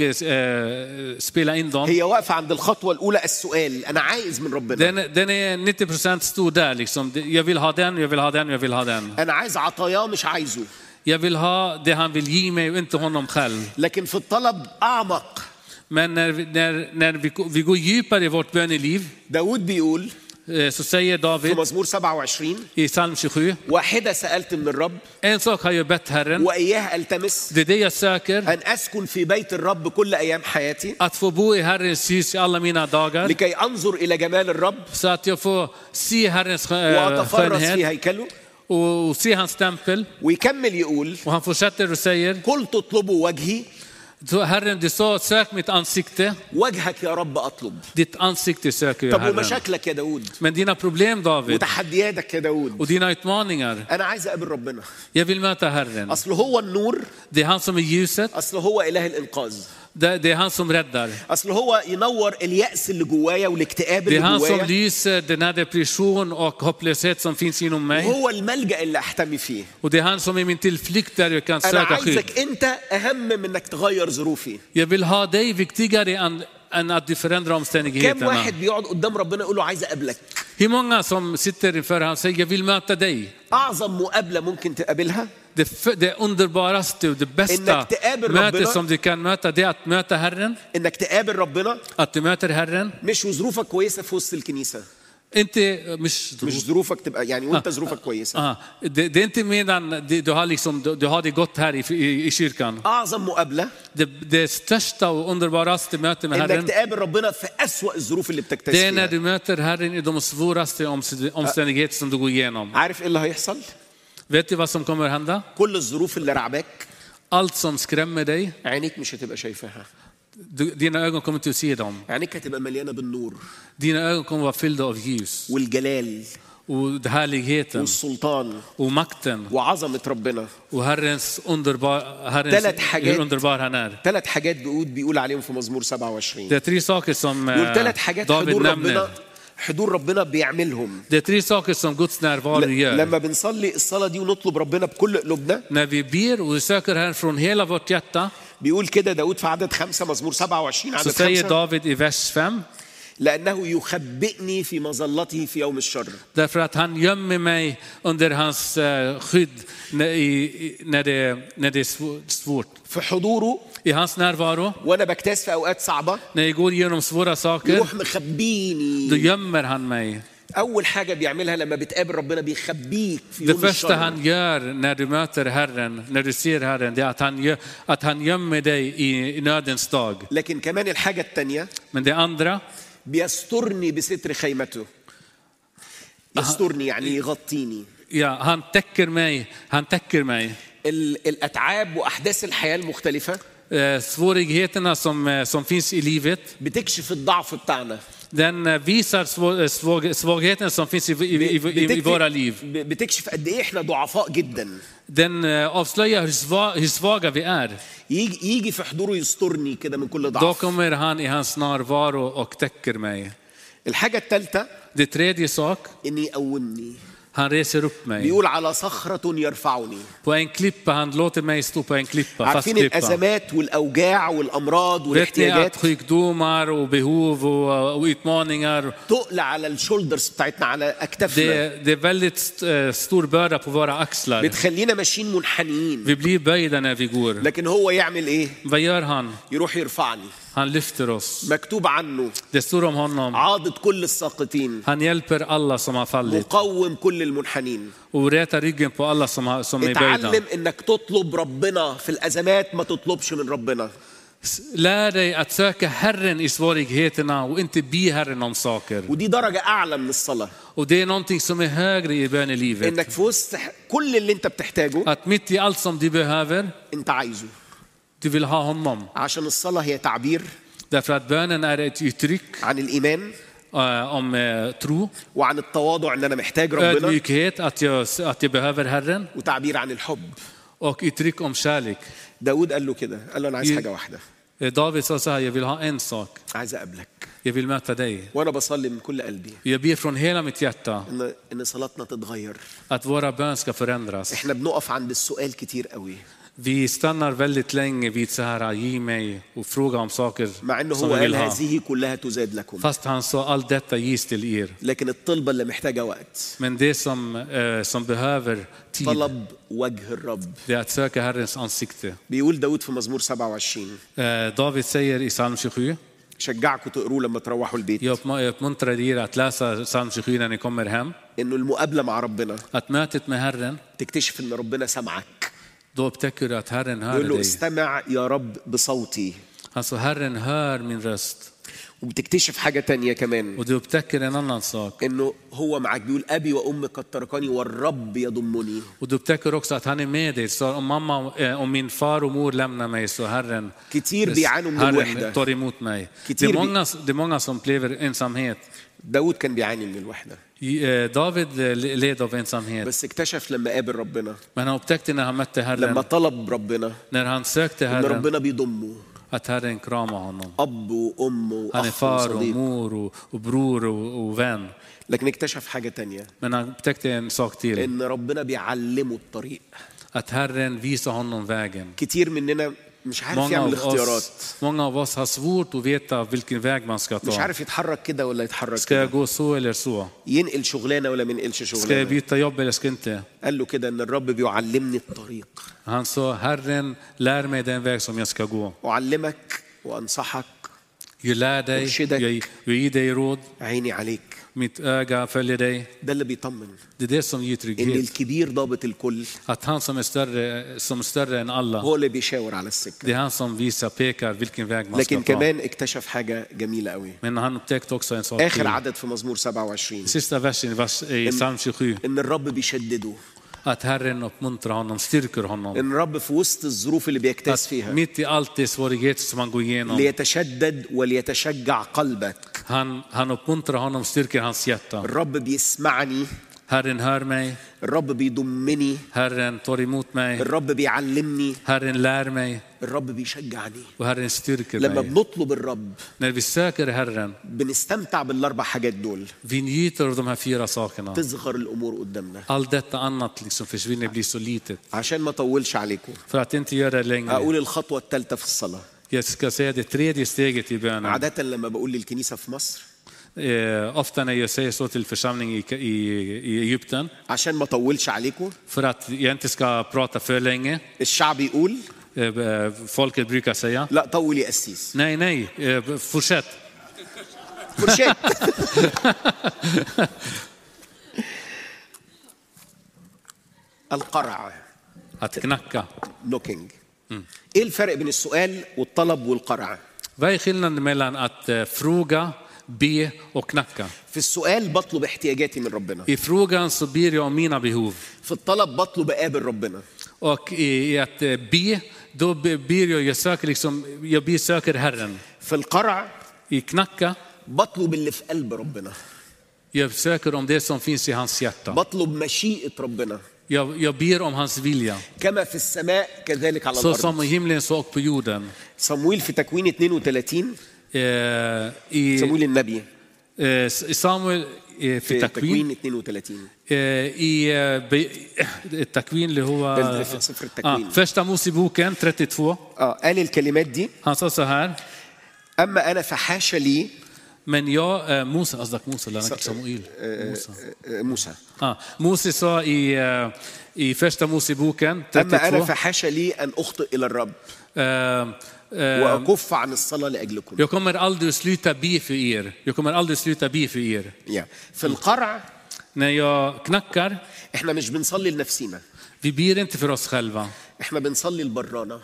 eh, spela in dem. هي واقفة عند الخطوة الأولى، السؤال أنا عايز من ربنا، Den, den är nittio procent stor där liksom. Jag vill ha den, jag vill ha den, jag vill ha den. أنا عايز عطاياه مش عايزه. Jag vill ha det han vill ge mig och inte honom själv. لكن في الطلب أعمق. Men när vi, när, när vi, vi går djupare i vårt böneliv, داود بيقول eh, så säger في David مزمور سبعة وعشرين i psalm tjugosju, واحدة سألت من الرب en sak har jag bett Herren, وإياها ألتمس، det är det jag söker, أن أسكن في بيت الرب كل أيام حياتي att få bo i Herrens hus i alla mina dagar, لكي أنظر إلى جمال الرب så att jag får se Herrens skö- وأتفرس في skönhet هيكله. och, och se hans tempel. ويكمل يقول Och han fortsätter och säger, قلت اطلبوا وجهي، så Herren, du sa, sök mitt ansikte. وجهك يا رب أطلب. Ditt ansikte söker jag, طب Herren. ومشاكلك يا داود Men dina problem, David, وتحدياتك يا داود، och dina utmaningar, أنا عايز أقابل ربنا. jag vill möta Herren. أصل هو النور، Det är han som är ljuset, أصل هو إله الإنقاذ، det, det är han som räddar. أصل هو ينور اليأس اللي جوايا والاكتئاب Det är اللي han som جوايا، lyser den här depression och hopplöshet som finns inom mig. وهو الملجأ اللي أحتمي فيه. Och det är han som är min tillflykt där jag kan أنا söka skydd. عايزك أنت أهم من إنك تغير ظروفي. Jag vill ha dig viktigare än, än att du förändrar كم omständigheterna. واحد بيقعد قدام ربنا يقول له عايز أقابلك؟ Hur många som sitter inför honom och säger, jag vill möta dig. أعظم مقابلة ممكن تقابلها Det, f- det underbaraste och det bästa إنك تقابل mötet ربنا. som du kan möta, det är att möta Herren. إنك تقابل ربنا، Att du möter Herren. مش وظروفك كويسة في وسط الكنيسة، Inte, مش, مش ظروفك تبقى يعني وأنت ظروفك كويسة. ah, det, det är inte medan du, du, har liksom, du, du har det gott här i, i, i kyrkan. أعظم مقابلة Det, det största och underbaraste mötet med إنك Herren, تقابل ربنا في أسوأ الظروف اللي det بتكتشف är när فيها. du möter Herren i de svåraste omst- omständigheter som du går igenom. عارف إيه اللي هيحصل؟ Vet du vad som kommer hända? كل الظروف اللي رعباك Allt som skrämmer dig, عينيك مش هتبقى شايفاها، du, dina ögon kommer inte att se dem. عينيك هتبقى مليانة بالنور Dina ögon kommer vara fyllda av ljus والجلال och härligheten والسلطان och makten وعظمة ربنا. och Herrens underbar, Herrens, ثلاث حاجات hur underbar han är. ثلاث حاجات بيقول بيقول عليهم في مزمور سبعة وعشرين. Det är tre saker som eh, دول ثلاث حاجات David حضور nämner. ربنا حضور ربنا بيعملهم. Det är tre saker som Guds närvaro ل- gör. لما بنصلي الصلاة دي ونطلب ربنا بكل قلوبنا، När vi ber och vi söker Herren från hela vårt hjärta, بيقول كده داود في عدد خمسة، مزمور سبعة وعشرين så عدد säger خمسة، David i vers fem, لأنه يخبئني في مظلته في يوم الشر. därför att han gömmer mig under hans eh, skydd när, i, i- när, det, när det är svå- svårt. في حضوره I hans närvaro, وأنا بجتاز في أوقات صعبة när jag går igenom svåra saker, يروح مخبيني. då gömmer han mig. أول حاجة بيعملها لما بتقابل ربنا بيخبيك في Det يوم första الشر. han gör när du möter Herren, när du ser Herren, det är att han, gör, att han gömmer dig i, i nödens dag. لكن كمان الحاجة التانية Men det andra, بيسترني بستر خيمته. يسترني يعني يغطيني. ja, han täcker mig, han täcker mig. ال- الأتعاب وأحداث الحياة المختلفة Eh, svårigheterna som, eh, som finns i livet, بتكشف الضعف بتاعنا. den eh, visar svå, svag, svagheten som finns i, i, i, i, i våra liv. ب- بتكشف قد إيه إحنا ضعفاء جدا. Den eh, avslöjar hur, sva, hur svaga vi är. يجي يجي في حضوره يسترني كده من كل Då ضعف. kommer han i hans närvaro och täcker mig. الحاجة الثالثة Det tredje sak, إني يقومني. Han reser upp mig. بيقول على صخرة يرفعني. På en klippa, han låter mig stå på en klippa, fast عارفين klippa. الأزمات والأوجاع والأمراض Vet ni والاحتياجات att sjukdomar och behov och, och utmaningar, تقل على الشولدرز بتاعتنا على أكتافنا det, det är väldigt st- stor börda på våra axlar. بتخلينا ماشيين منحنيين. Vi blir böjda när vi går. لكن هو يعمل إيه؟ Vad gör han? يروح يرفعني. Han lyfter oss. مكتوب عنه Det står om honom. عاضد كل الساقطين Han hjälper alla som har fallit مقوم كل المنحنين. och rätar ryggen på alla som, har, som är böjda. اتعلم انك تطلب ربنا في الازمات ما تطلبش من ربنا. Lär dig att söka Herren i svårigheterna och inte be Herren om saker. ودي درجة أعلى من الصلاة. Och det är någonting som är högre i bönelivet. إنك في وسط كل اللي أنت بتحتاجه Att mitt i allt som du behöver, أنت عايزه. du vill ha honom. عشان الصلاة هي تعبير Därför att bönen är ett uttryck عن الإيمان uh, om uh, tro, وعن التواضع إن أنا محتاج ربنا ödmjukhet, att jag, att jag behöver Herren, وتعبير عن الحب. och uttryck om kärlek. داود قال له كده قال له أنا عايز حاجة واحدة David sa så här, jag vill ha en sak. عايز أقابلك. Jag vill möta dig. وأنا بصلي من كل قلبي Jag ber från hela mitt hjärta إن إن صلاتنا تتغير. att våra bön ska förändras. إحنا بنقف عند السؤال كتير قوي. Vi stannar väldigt länge vid så här, ge mig och fråga om saker مع إنه som هو jag vill قال ha. هذه كلها تزاد لكم. Fast han sa, allt detta ges till er. لكن الطلبة اللي محتاجة وقت Men det som, eh, som behöver tid, طلب وجه الرب. det är att söka Herrens ansikte. بيقول داود في مزمور سبعة وعشرين. Eh, David säger i psalm tjugosju, شجعكم تقروه لما تروحوا البيت. jag uppma- jag uppmuntrar er att läsa psalm tjugosju när ni kommer hem. إنه المقابلة مع ربنا Att mötet med Herren, تكتشف إن ربنا سمعك. då upptäcker du att Herren hör يقول له dig. استمع يا رب بصوتي. Alltså Herren hör min röst. وبتكتشف حاجة تانية كمان Och du upptäcker en annan sak. إنه هو معك. بيقول أبي وأمي قد تركني والرب يضمني. Och du upptäcker också att han är med dig. Så om mamma, eh, om min far och mor lämnar mig, så Herren, كتير بيعانوا من Herren الوحدة. tar emot mig. Det كتير är, بي- många, det är många som upplever ensamhet. داود كان بيعاني من الوحدة I- eh, David eh, led av ensamhet. بس اكتشف لما قابل ربنا Men han upptäckte när han mötte لما Herren, طلب ربنا när han sökte إن Herren, ربنا بيضمه. att Herren kramar honom. أب وأم Han är وأخ far och وصديق. mor och, och bror och, och vän. لكن اكتشف حاجة تانية Men han upptäckte en sak till. إن ربنا بيعلمه الطريق. Att Herren visar honom vägen. كتير مننا مش عارف Många يعمل av, اختيارات. oss, många av oss har svårt att veta vilken väg man ska مش ta. عارف يتحرك كده ولا يتحرك Ska jag كده. gå så eller så? ينقل شغلانة ولا ما ينقلش Ska jag شغلانة. byta jobb eller ska jag inte? قال له كده إن الرب بيعلمني الطريق. Han sa, Herren lär mig den väg som jag ska gå. أعلمك وأنصحك. Jag lär dig, Ursäkta. jag, jag ger dig råd, عيني عليك. mitt öga följer dig. ده اللي بيطمن Det är det som ger إن trygghet. الكبير ضابط الكل. Att han som är större, som är större än alla, هو اللي بيشاور على السكة. det är han som visar, pekar vilken väg man ska لكن ta. كمان اكتشف حاجة جميلة قوي. Men han upptäckte också en sak آخر till. عدد في مزمور سبعة وعشرين Sista versen i vers- i psalm tjugosju. إن الرب بيشدده. Att Herren uppmuntrar honom, styrker honom. إن الرب في وسط الظروف اللي بيجتاز Att فيها mitt i allt det svårigheter som han går igenom, ليتشدد وليتشجع قلبك. han, han uppmuntrar honom, styrker hans hjärta. الرب بيسمعني. Herren hör mig, الرب بيضمني. Herren tar emot mig, الرب بيعلمني. Herren lär mig الرب بيشجعني. och Herren styrker لما mig. بنطلب الرب När vi söker Herren, بنستمتع بالاربع حاجات دول. vi njuter av de här fyra sakerna. تصغر الامور قدامنا. Allt detta annat liksom försvinner, blir så litet. عشان ما اطولش عليكم För att inte göra det längre, اقول الخطوه الثالثه في الصلاه. jag ska säga det tredje steget i bönen. عاده لما بقول للكنيسه في مصر Eh, ofta när jag säger så till församling i, i, i Egypten, عشان ما اطولش عليكم för att jag inte ska prata för länge, الشعب يقول eh, eh, folket brukar säga, لا طول يا قسيس. nej, nej, eh, fortsätt. فرشات. القرع Att knacka. نوكينج. ايه الفرق بين السؤال والطلب والقرع؟ Vad är skillnaden mellan att eh, fråga, be och knacka? في السؤال بطلب احتياجاتي من ربنا. I frågan så ber jag om mina behov. في الطلب بطلب اقابل ربنا. Och i, i att eh, be, då be- ber jag, jag söker liksom, jag ber söker Herren. في القرع I knacka, بطلب اللي في قلب ربنا. jag söker om det som finns i hans hjärta. بطلب مشيئة ربنا. Jag, jag ber om hans vilja. كما في السماء كذلك على Så som i الأرض. himlen så och på jorden. صمويل في تكوين اثنين وثلاثين Eh, i, صمويل النبي eh, i Samuel, في في التكوين تكوين اثنين وثلاثين. i التكوين اللي هو في سفر التكوين. första Moseboken trettiotvå. اه قال الكلمات دي: Han sa så här: اما انا فحاش لي. men jag Mose قصدك موسى لا أنا Samuel موسى موسى ah Mose sa i i första Moseboken اما انا trettiotvå فحاش لي ان اخطئ الى الرب واكف عن الصلاه لاجلكم. jag kommer aldrig sluta be för er jag kommer aldrig sluta be för er. yeah. في القرع när jag knackar احنا مش بنصلي لنفسنا. vi ber inte för oss själva. احنا بنصلي لبرانا.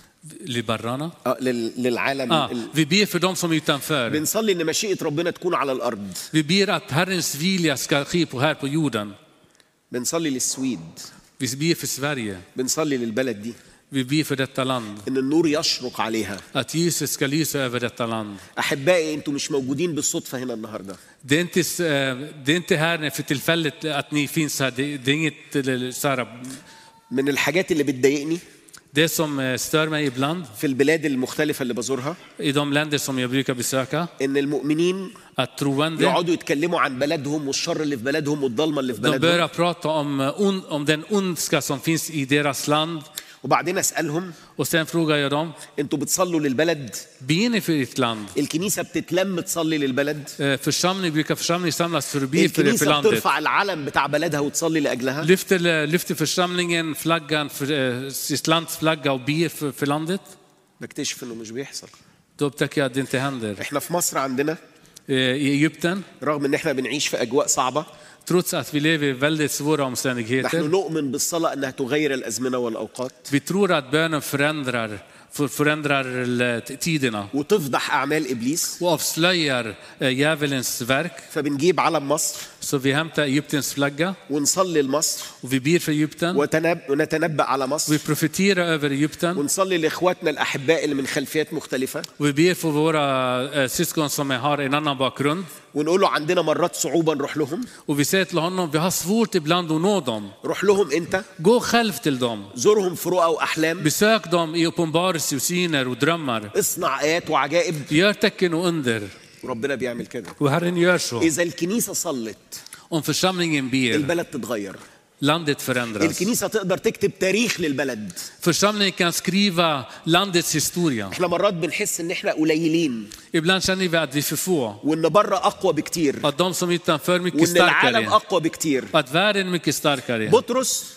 لبرانا اه للعالم. ah vi ber för dem som är utanför. بنصلي ان مشيئة ربنا تكون على الارض. vi ber att Herrens vilja ska ske på här på jorden. بنصلي للسويد. vi ber för Sverige. بنصلي للبلد دي. vi ber för detta land. ان النور يشرق عليها. att ljuset ska lysa över detta land. احبائي انتوا مش موجودين بالصدفة هنا النهارده. det är inte det är inte här för tillfället att ni finns här. det är inget så من الحاجات اللي بتضايقني det som stör mig ibland في البلاد المختلفة اللي بزورها i de länder som jag brukar besöka ان المؤمنين att troende يقعدوا يتكلموا عن بلدهم والشر اللي في بلدهم والظلمة اللي في de بلدهم. börjar prata om om den ondska som finns i deras land. وبعدين اسالهم och sen frågar jag dem: انتوا بتصلوا للبلد؟ ber ni för ert land? الكنيسة بتتلم تصلي للبلد؟ församling brukar församling samlas för att be för för الكنيسة landet. بترفع العلم بتاع بلدها وتصلي لأجلها؟ lyfter lyfter församlingen flaggan för sitt lands flagga och ber för för landet? بكتشف انه مش بيحصل. då upptäcker jag att det inte händer. احنا في مصر عندنا i Egypten رغم ان احنا بنعيش في اجواء صعبة trots att vi lever i väldigt svåra omständigheter. نحن نؤمن بالصلاة انها تغير الازمنة والاوقات. vi tror att bönen förändrar förändrar tiderna وتفضح اعمال ابليس och avslöjar djävulens verk. فبنجيب علم مصر så vi hämtar Egyptens flagga ونصلي لمصر och vi ber för Egypten ونتنبأ على مصر. vi profeterar över Egypten ونصلي لاخواتنا الاحباء اللي من خلفيات مختلفة. och vi ber för våra syskon som har en annan bakgrund. ونقول له عندنا مرات صعوبة نروح لهم. och vi säger till honom: vi har svårt ibland att nå dem. روح لهم انت. gå själv till dem. زورهم في رؤى واحلام. besök dem i uppenbarelse och syner och drömmar. اصنع آيات وعجائب. gör tecken och under. وربنا بيعمل كده. och Herren gör så. إذا الكنيسة صلت om församlingen ber البلد تتغير. landet förändras. الكنيسة تقدر تكتب تاريخ للبلد. församlingen kan skriva landets historia. احنا مرات بنحس ان احنا قليلين. ibland känner vi att vi är för få. وان بره اقوى بكتير. att de som utanför mycket وان العالم starkare. اقوى بكتير. att världen är mycket starkare. بطرس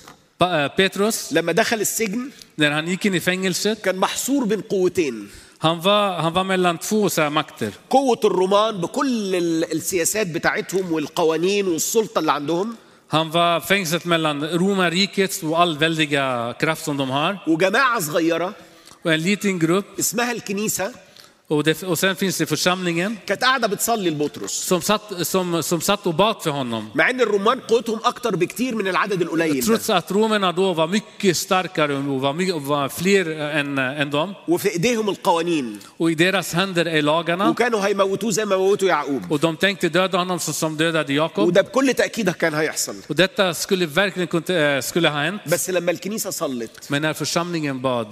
Petrus لما دخل السجن när han gick in i fängelset كان محصور بين قوتين. han var han var mellan två så här makter. قوة الرومان بكل السياسات بتاعتهم والقوانين والسلطة اللي عندهم. Han var fängslat mellan romarriket och all väldiga kraft som de har. وجماعة صغيرة och en liten grupp اسمها الكنيسة och, det, och sen finns det församlingen كانت قاعدة بتصلي لبطرس. som satt som som satt och bad för honom. مع ان الرومان قوتهم اكتر بكتير من العدد القليل. Trots att romarna då var mycket starkare och var, mycket, var fler än än dem. وفي ايديهم القوانين. och i deras händer är lagarna. وكانوا هيموتوه زي ما موتوا يعقوب. och de tänkte döda honom som dödade Jakob. وده بكل تأكيد كان هيحصل. och detta skulle verkligen kunde skulle ha hänt. بس لما الكنيسة صلت. men när församlingen bad.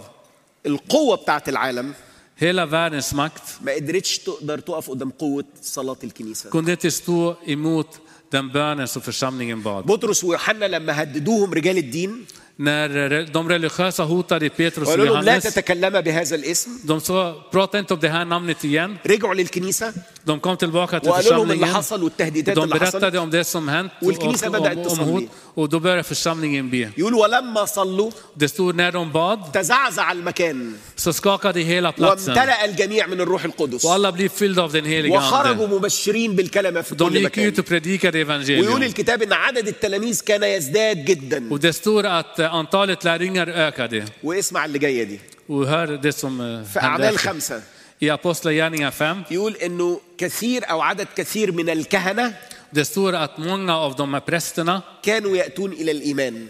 القوة بتاعت العالم. hela världens makt. ما قدرتش تقدر تقف قدام قوة صلاة الكنيسة. kunde inte stå emot den bönen som församlingen bad. بطرس ويوحنا لما هددوهم رجال الدين. när de religiösa hotade Petrus och قالوا لهم لا Johannes. تتكلم بهذا الاسم. de sa prata inte om det här namnet igen. رجعوا للكنيسة. de kom tillbaka till وقالوا لهم اللي församlingen. حصل والتهديدات de اللي حصلت. berättade om det som hänt والكنيسة och, بدأت om, om تصلي. hot och då började församlingen be. يقول ولما صلوا. det stod när de bad. تزعزع المكان. så skakade hela platsen. وامتلأ الجميع من الروح القدس. och alla blev fyllda av den heliga وخرجوا ande. مبشرين بالكلمة في de كل gick مكان. ut och predikade evangelium. ويقول الكتاب ان عدد التلاميذ كان يزداد جدا. och det står att antalet lärjungar ökade. واسمع اللي جايه دي. och hör det som في أعمال خمسة. i Apostlagärningarna fem. يقول انه كثير او عدد كثير من الكهنة. det står att många av de här prästerna كانوا يأتون إلى الإيمان.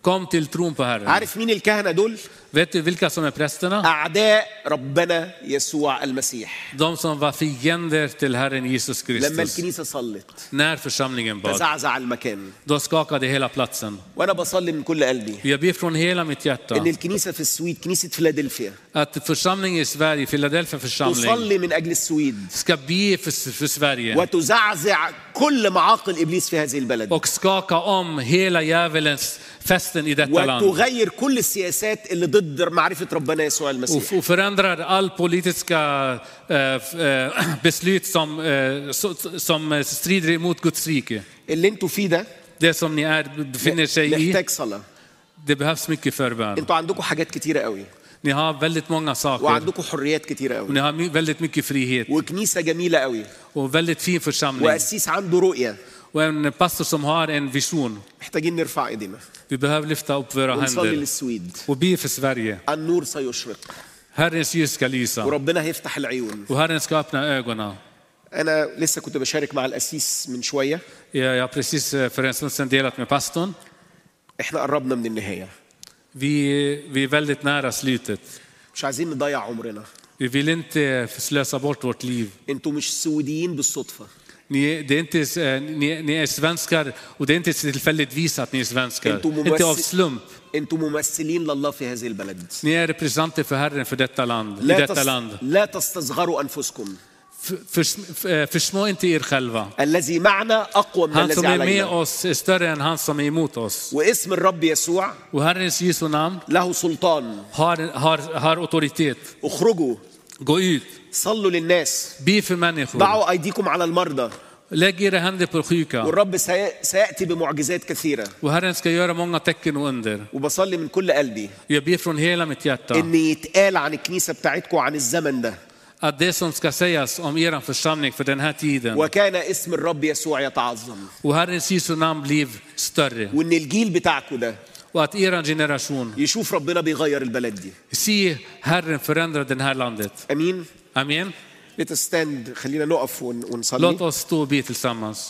Kom till tron på Herren. عارف مين الكهنة دول؟ Vet du vilka som är prästerna? أعداء ربنا يسوع المسيح. De som var fiender till Herren Jesus لما Kristus. الكنيسة صلت När församlingen bad, تزعزع المكان. då skakade hela platsen. وأنا بصلي من كل قلبي Jag ber från hela mitt hjärta إن الكنيسة في السويد كنيسة فيلادلفيا att församlingen i Sverige, Philadelphia församling, تصلي من أجل السويد ska be för, för Sverige وتزعزع كل معاقل إبليس في هذه البلد och skaka om hela djävulens festen i detta land. وتغير كل السياسات اللي ضد معرفة ربنا يسوع المسيح. Och förändrar all politiska äh, äh, beslut som, äh, som strider emot Guds rike. اللي انتوا فيه ده Det som ni är, befinner sig i, محتاج صلاة. det behövs mycket förbön. انتوا عندكم حاجات كتيرة قوي Ni har väldigt många saker. وعندكم حريات كتيرة Och قوي ni har my- väldigt mycket frihet. وكنيسة جميلة قوي Och väldigt fin församling. وقسيس عنده رؤية. Och en pastor som har en vision. محتاجين نرفع ايدينا Vi behöver lyfta upp våra ونصلي händer للسويد. och be för Sverige. النور سيشرق Herrens ljus ska lysa. وربنا هيفتح العيون. Och Herren ska öppna ögonen. أنا لسه كنت بشارك مع القسيس من شوية. Jag har precis för en stund sedan delat med pastorn. إحنا قربنا من النهاية. Vi, vi är väldigt nära slutet. مش عايزين نضيع عمرنا. Vi vill inte slösa bort vårt liv. انتوا مش سوديين بالصدفة. Ni, det är inte, ni, ni är svenskar och det är inte tillfälligtvis att ni är svenskar. انتوا Inte av ممثل slump. انتوا ممثلين لله في هذه البلد. Ni är representanter för Herren för detta land, i لا detta تس... land. لا تستصغروا أنفسكم. För, för, försmå inte er själva. الذي معنا أقوى من Han som الذي är med علينا. oss är större än han som är emot oss. واسم الرب يسوع Och Herrens Jesu namn له سلطان. har, har, har auktoritet. اخرجوا Gå ut, صلوا للناس. be för människor. ضعوا أيديكم على المرضى. Lägg era händer på sjuka. والرب سي... سيأتي بمعجزات كثيرة. Och Herren ska göra många tecken och under. وبصلي من كل قلبي Jag ber från hela mitt hjärta إن يتقال عن الكنيسة بتاعتكم عن الزمن ده. att det som ska sägas om er församling för den här tiden وكان اسم الرب يسوع يتعظم. och Herrens Jesu namn blir större. وإن الجيل بتاعكم ده Och att er generation يشوف ربنا بيغير البلد دي. se Herren förändra det här landet. أمين. Amen. Let us stand. خلينا نقف ون- Låt ونصلي. oss stå och be tillsammans.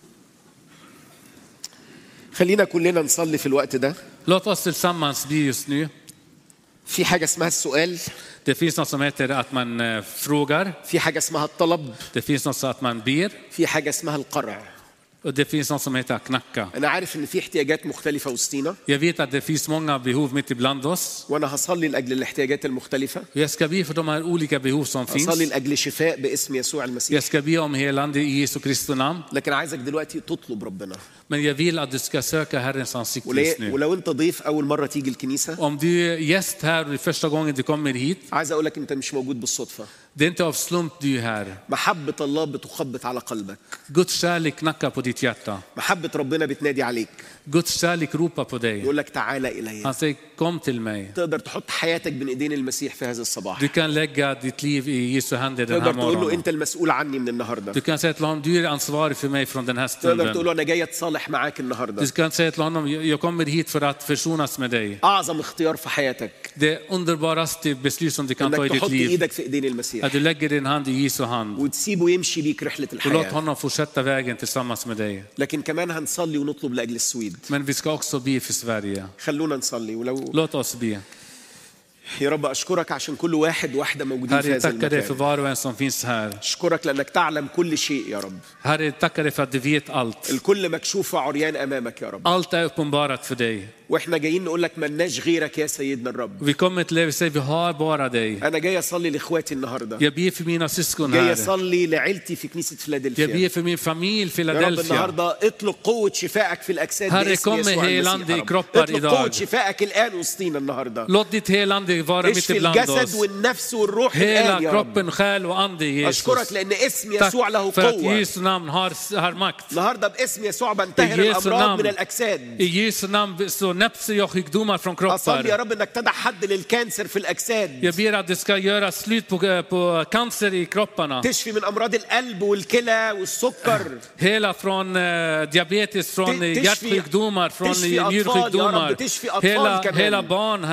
خلينا كلنا نصلي في الوقت ده. Låt oss tillsammans be just nu. في حاجة اسمها السؤال. Det finns något som heter att man eh, frågar. في حاجة اسمها الطلب. Det finns något som att man ber. في حاجة اسمها القرع. Och det finns något som heter att knacka. أنا عارف إن في احتياجات مختلفة وسطينا. Jag vet att det finns många behov mitt ibland oss. وأنا هصلي لأجل الاحتياجات المختلفة. Jag ska be för de här olika behov som هصلي finns. لأجل شفاء باسم يسوع المسيح. Jag ska be om helande i Jesu Kristi namn. لكن عايزك دلوقتي تطلب ربنا. Men jag vill att du ska söka Herrens ansikte just ولو nu. ولو أنت ضيف أول مرة تيجي الكنيسة. Om du är gäst här och det är första gången du kommer hit. عايز أقول لك أنت مش موجود بالصدفة. Det är inte av slump du är här. محبة الله بتخبط على قلبك. Guds kärlek knackar på ditt hjärta. محبة ربنا بتنادي عليك. Guds kärlek ropar på dig. يقول لك تعالى إلي. Han säger kom till mig. تقدر تحط حياتك بين ايدين المسيح في هذا الصباح. Du kan lägga ditt liv i Jesu händer den här تقدر تقول له morgonen. انت المسؤول عني من النهارده. Du kan säga till honom du är ansvarig för mig från den här تقدر تقول stunden. له انا جاي اتصالح معاك النهارده. Du kan säga till honom jag kommer hit för att försonas med dig. اعظم اختيار في حياتك Det underbaraste beslut som du kan ta i انك ditt تحط liv ايدك في ايدين المسيح att du lägger din hand i Jesu hand وتسيبه يمشي بيك رحله och låt الحياه. honom fortsätta vägen tillsammans med dig. لكن كمان هنصلي ونطلب لاجل السويد. Men vi ska också be för Sverige. خلونا نصلي. ولو Låt oss be. يا رب اشكرك عشان كل واحد واحده موجودين Herre, في jag هذا tackar dig för المكان. var och en som finns här. اشكرك لانك تعلم كل شيء يا رب. Herre, jag tackar dig för att du vet allt. الكل مكشوف وعريان امامك يا رب. Allt är uppenbarat för dig. واحنا جايين نقول لك ملناش غيرك يا سيدنا الرب. Vi kommer till dig och säger vi har bara dig. انا جاي اصلي لاخواتي النهارده. Jag ber för mina syskon جاي här. اصلي لعيلتي في كنيسه Jag فيلادلفيا. ber för min familj يا رب Philadelphia. النهارده اطلق قوه شفائك في الاجساد Herre, باسم kom med يسوع helande المسيح i يا رب. kroppar اطلق idag. قوه شفائك الان وسطينا النهارده. Låt ditt helande vara mitt اشفي ibland الجسد oss. والنفس والروح Hela الان يا رب. kroppen, själ och ande i اشكرك Jesus. لان اسم يسوع له Tack för att قوه. Jesu namn har, har makt. النهارده باسم يسوع بنتهر I Jesu الامراض namn. من الاجساد. I Jesu namn så näpser jag sjukdomar från اصلي يا kroppar. رب انك تدع حد للكانسر في الاجساد. Jag ber att det ska göra slut på, på cancer i kropparna. تشفي من امراض القلب والكلى والسكر. Hela från eh, diabetes, från تشفي- hjärtsjukdomar, från تشفي أطفال يا رب، njursjukdomar. تشفي أطفال Hela, كمان. hela barn, Herre.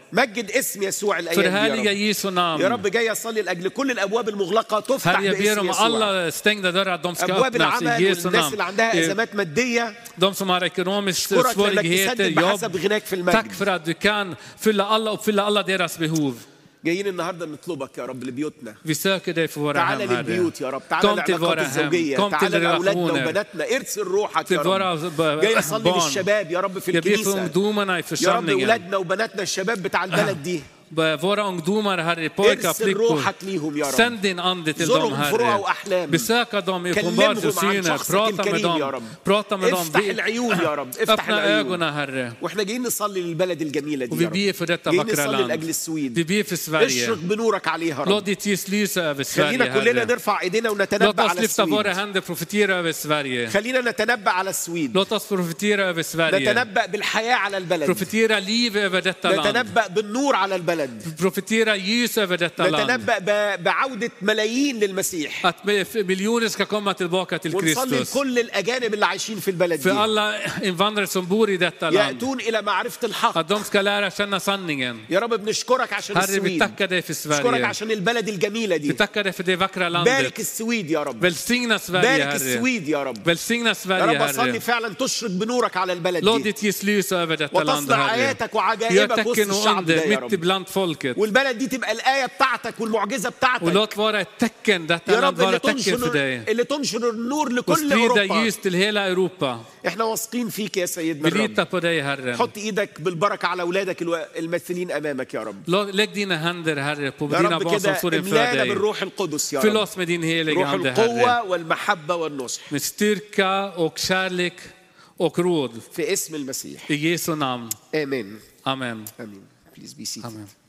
مجد اسم يسوع الايام دي Förhärliga يا Jesu رب. namn. يا رب جاي اصلي لاجل كل الابواب المغلقه تفتح Herre, jag ber باسم om يسوع. alla stängda dörrar, de ska ابواب öppnas i العمل Jesu والناس اللي namn. عندها ازمات ماديه De som har ekonomiska اشكرك لانك svårigheter, تسدد بحسب jobb. غناك في Tack المجد. för att du kan fylla alla, uppfylla alla deras behov. جايين النهارده نطلبك يا رب لبيوتنا. Vi söker dig för våra تعالى hem, Herre. للبيوت يا رب، تعالى Kom till للعلاقات våra hem, الزوجيه، kom till تعالى لاولادنا relationer, وبناتنا، ارسل روحك till يا våra رب. جاي اصلي barn. للشباب يا رب في Jag ber för الكنيسه ungdomarna i يا رب، församlingen. اولادنا وبناتنا الشباب بتاع البلد دي. Våra ungdomar, Herre, pojkar, ارسل flickor. روحك ليهم يا رب. Sänd din ande till dem, زورهم في رؤى Herre. واحلام. Besöka dem i كلمهم عن uppenbarelsesyner. شخصك Prata med الكريم يا dem. رب. Prata med dem. افتح العيون يا رب، افتح Öppna العيون. ögonen, Herre. واحنا جايين نصلي للبلد الجميله Och دي vi يا ber رب. för detta جايين vackra نصلي land. لاجل السويد. Vi ber för Sverige. اشرق بنورك عليها Låt رب. ditt ljus lysa över Sverige, خلينا كلنا Herre. نرفع ايدينا Låt ونتنبأ oss على lyfta våra السويد. händer och profetera över Sverige. خلينا نتنبأ على السويد. Låt oss profetera över Sverige. نتنبأ بالحياه على البلد. Profetera liv över detta land. نتنبأ بالنور على البلد. Profetera ljus över detta land. نتنبأ ب- بعودة ملايين للمسيح. Att miljoner ska komma tillbaka till ونصلي Kristus. لكل الأجانب اللي عايشين في البلد För دي alla invandrare som bor i detta land. يأتون إلى معرفة الحق. Att de ska lära känna sanningen. يا رب بنشكرك عشان Herre, vi السويد. tackar dig för نشكرك Sverige. عشان البلد الجميلة Vi دي. tackar dig för det vackra بارك landet. السويد يا رب. Välsigna Sverige, بارك Herre. السويد يا رب. Välsigna يا Sverige, رب أصلي Herre. فعلا تشرق بنورك على البلد Låt دي. ditt ljus lysa över detta land, وتصنع Herre. آياتك Gör وعجائبك وسط tecken och الشعب ده under يا mitt رب. ibland folket. والبلد دي تبقى الآية بتاعتك والمعجزة Och بتاعتك låt vara ett tecken, detta يا land رب. اللي vara tecken för تنشر dig. اللي تنشر النور Och لكل sprida أوروبا. ljus till hela Europa. احنا واثقين فيك يا سيدنا Vi الرب. litar på dig, Herre. حط ايدك بالبركه على اولادك الو- الممثلين امامك يا رب. Låt- Lägg dina händer, Herre, på يا dina رب barn som كده står inför املانا dig. بالروح القدس يا Fyll رب. oss med din heliga روح ande, Herre. القوه والمحبه والنصح Med styrka och kärlek och råd. في اسم المسيح. I Jesu namn. امين Amen. امين. Please be seated. Amen.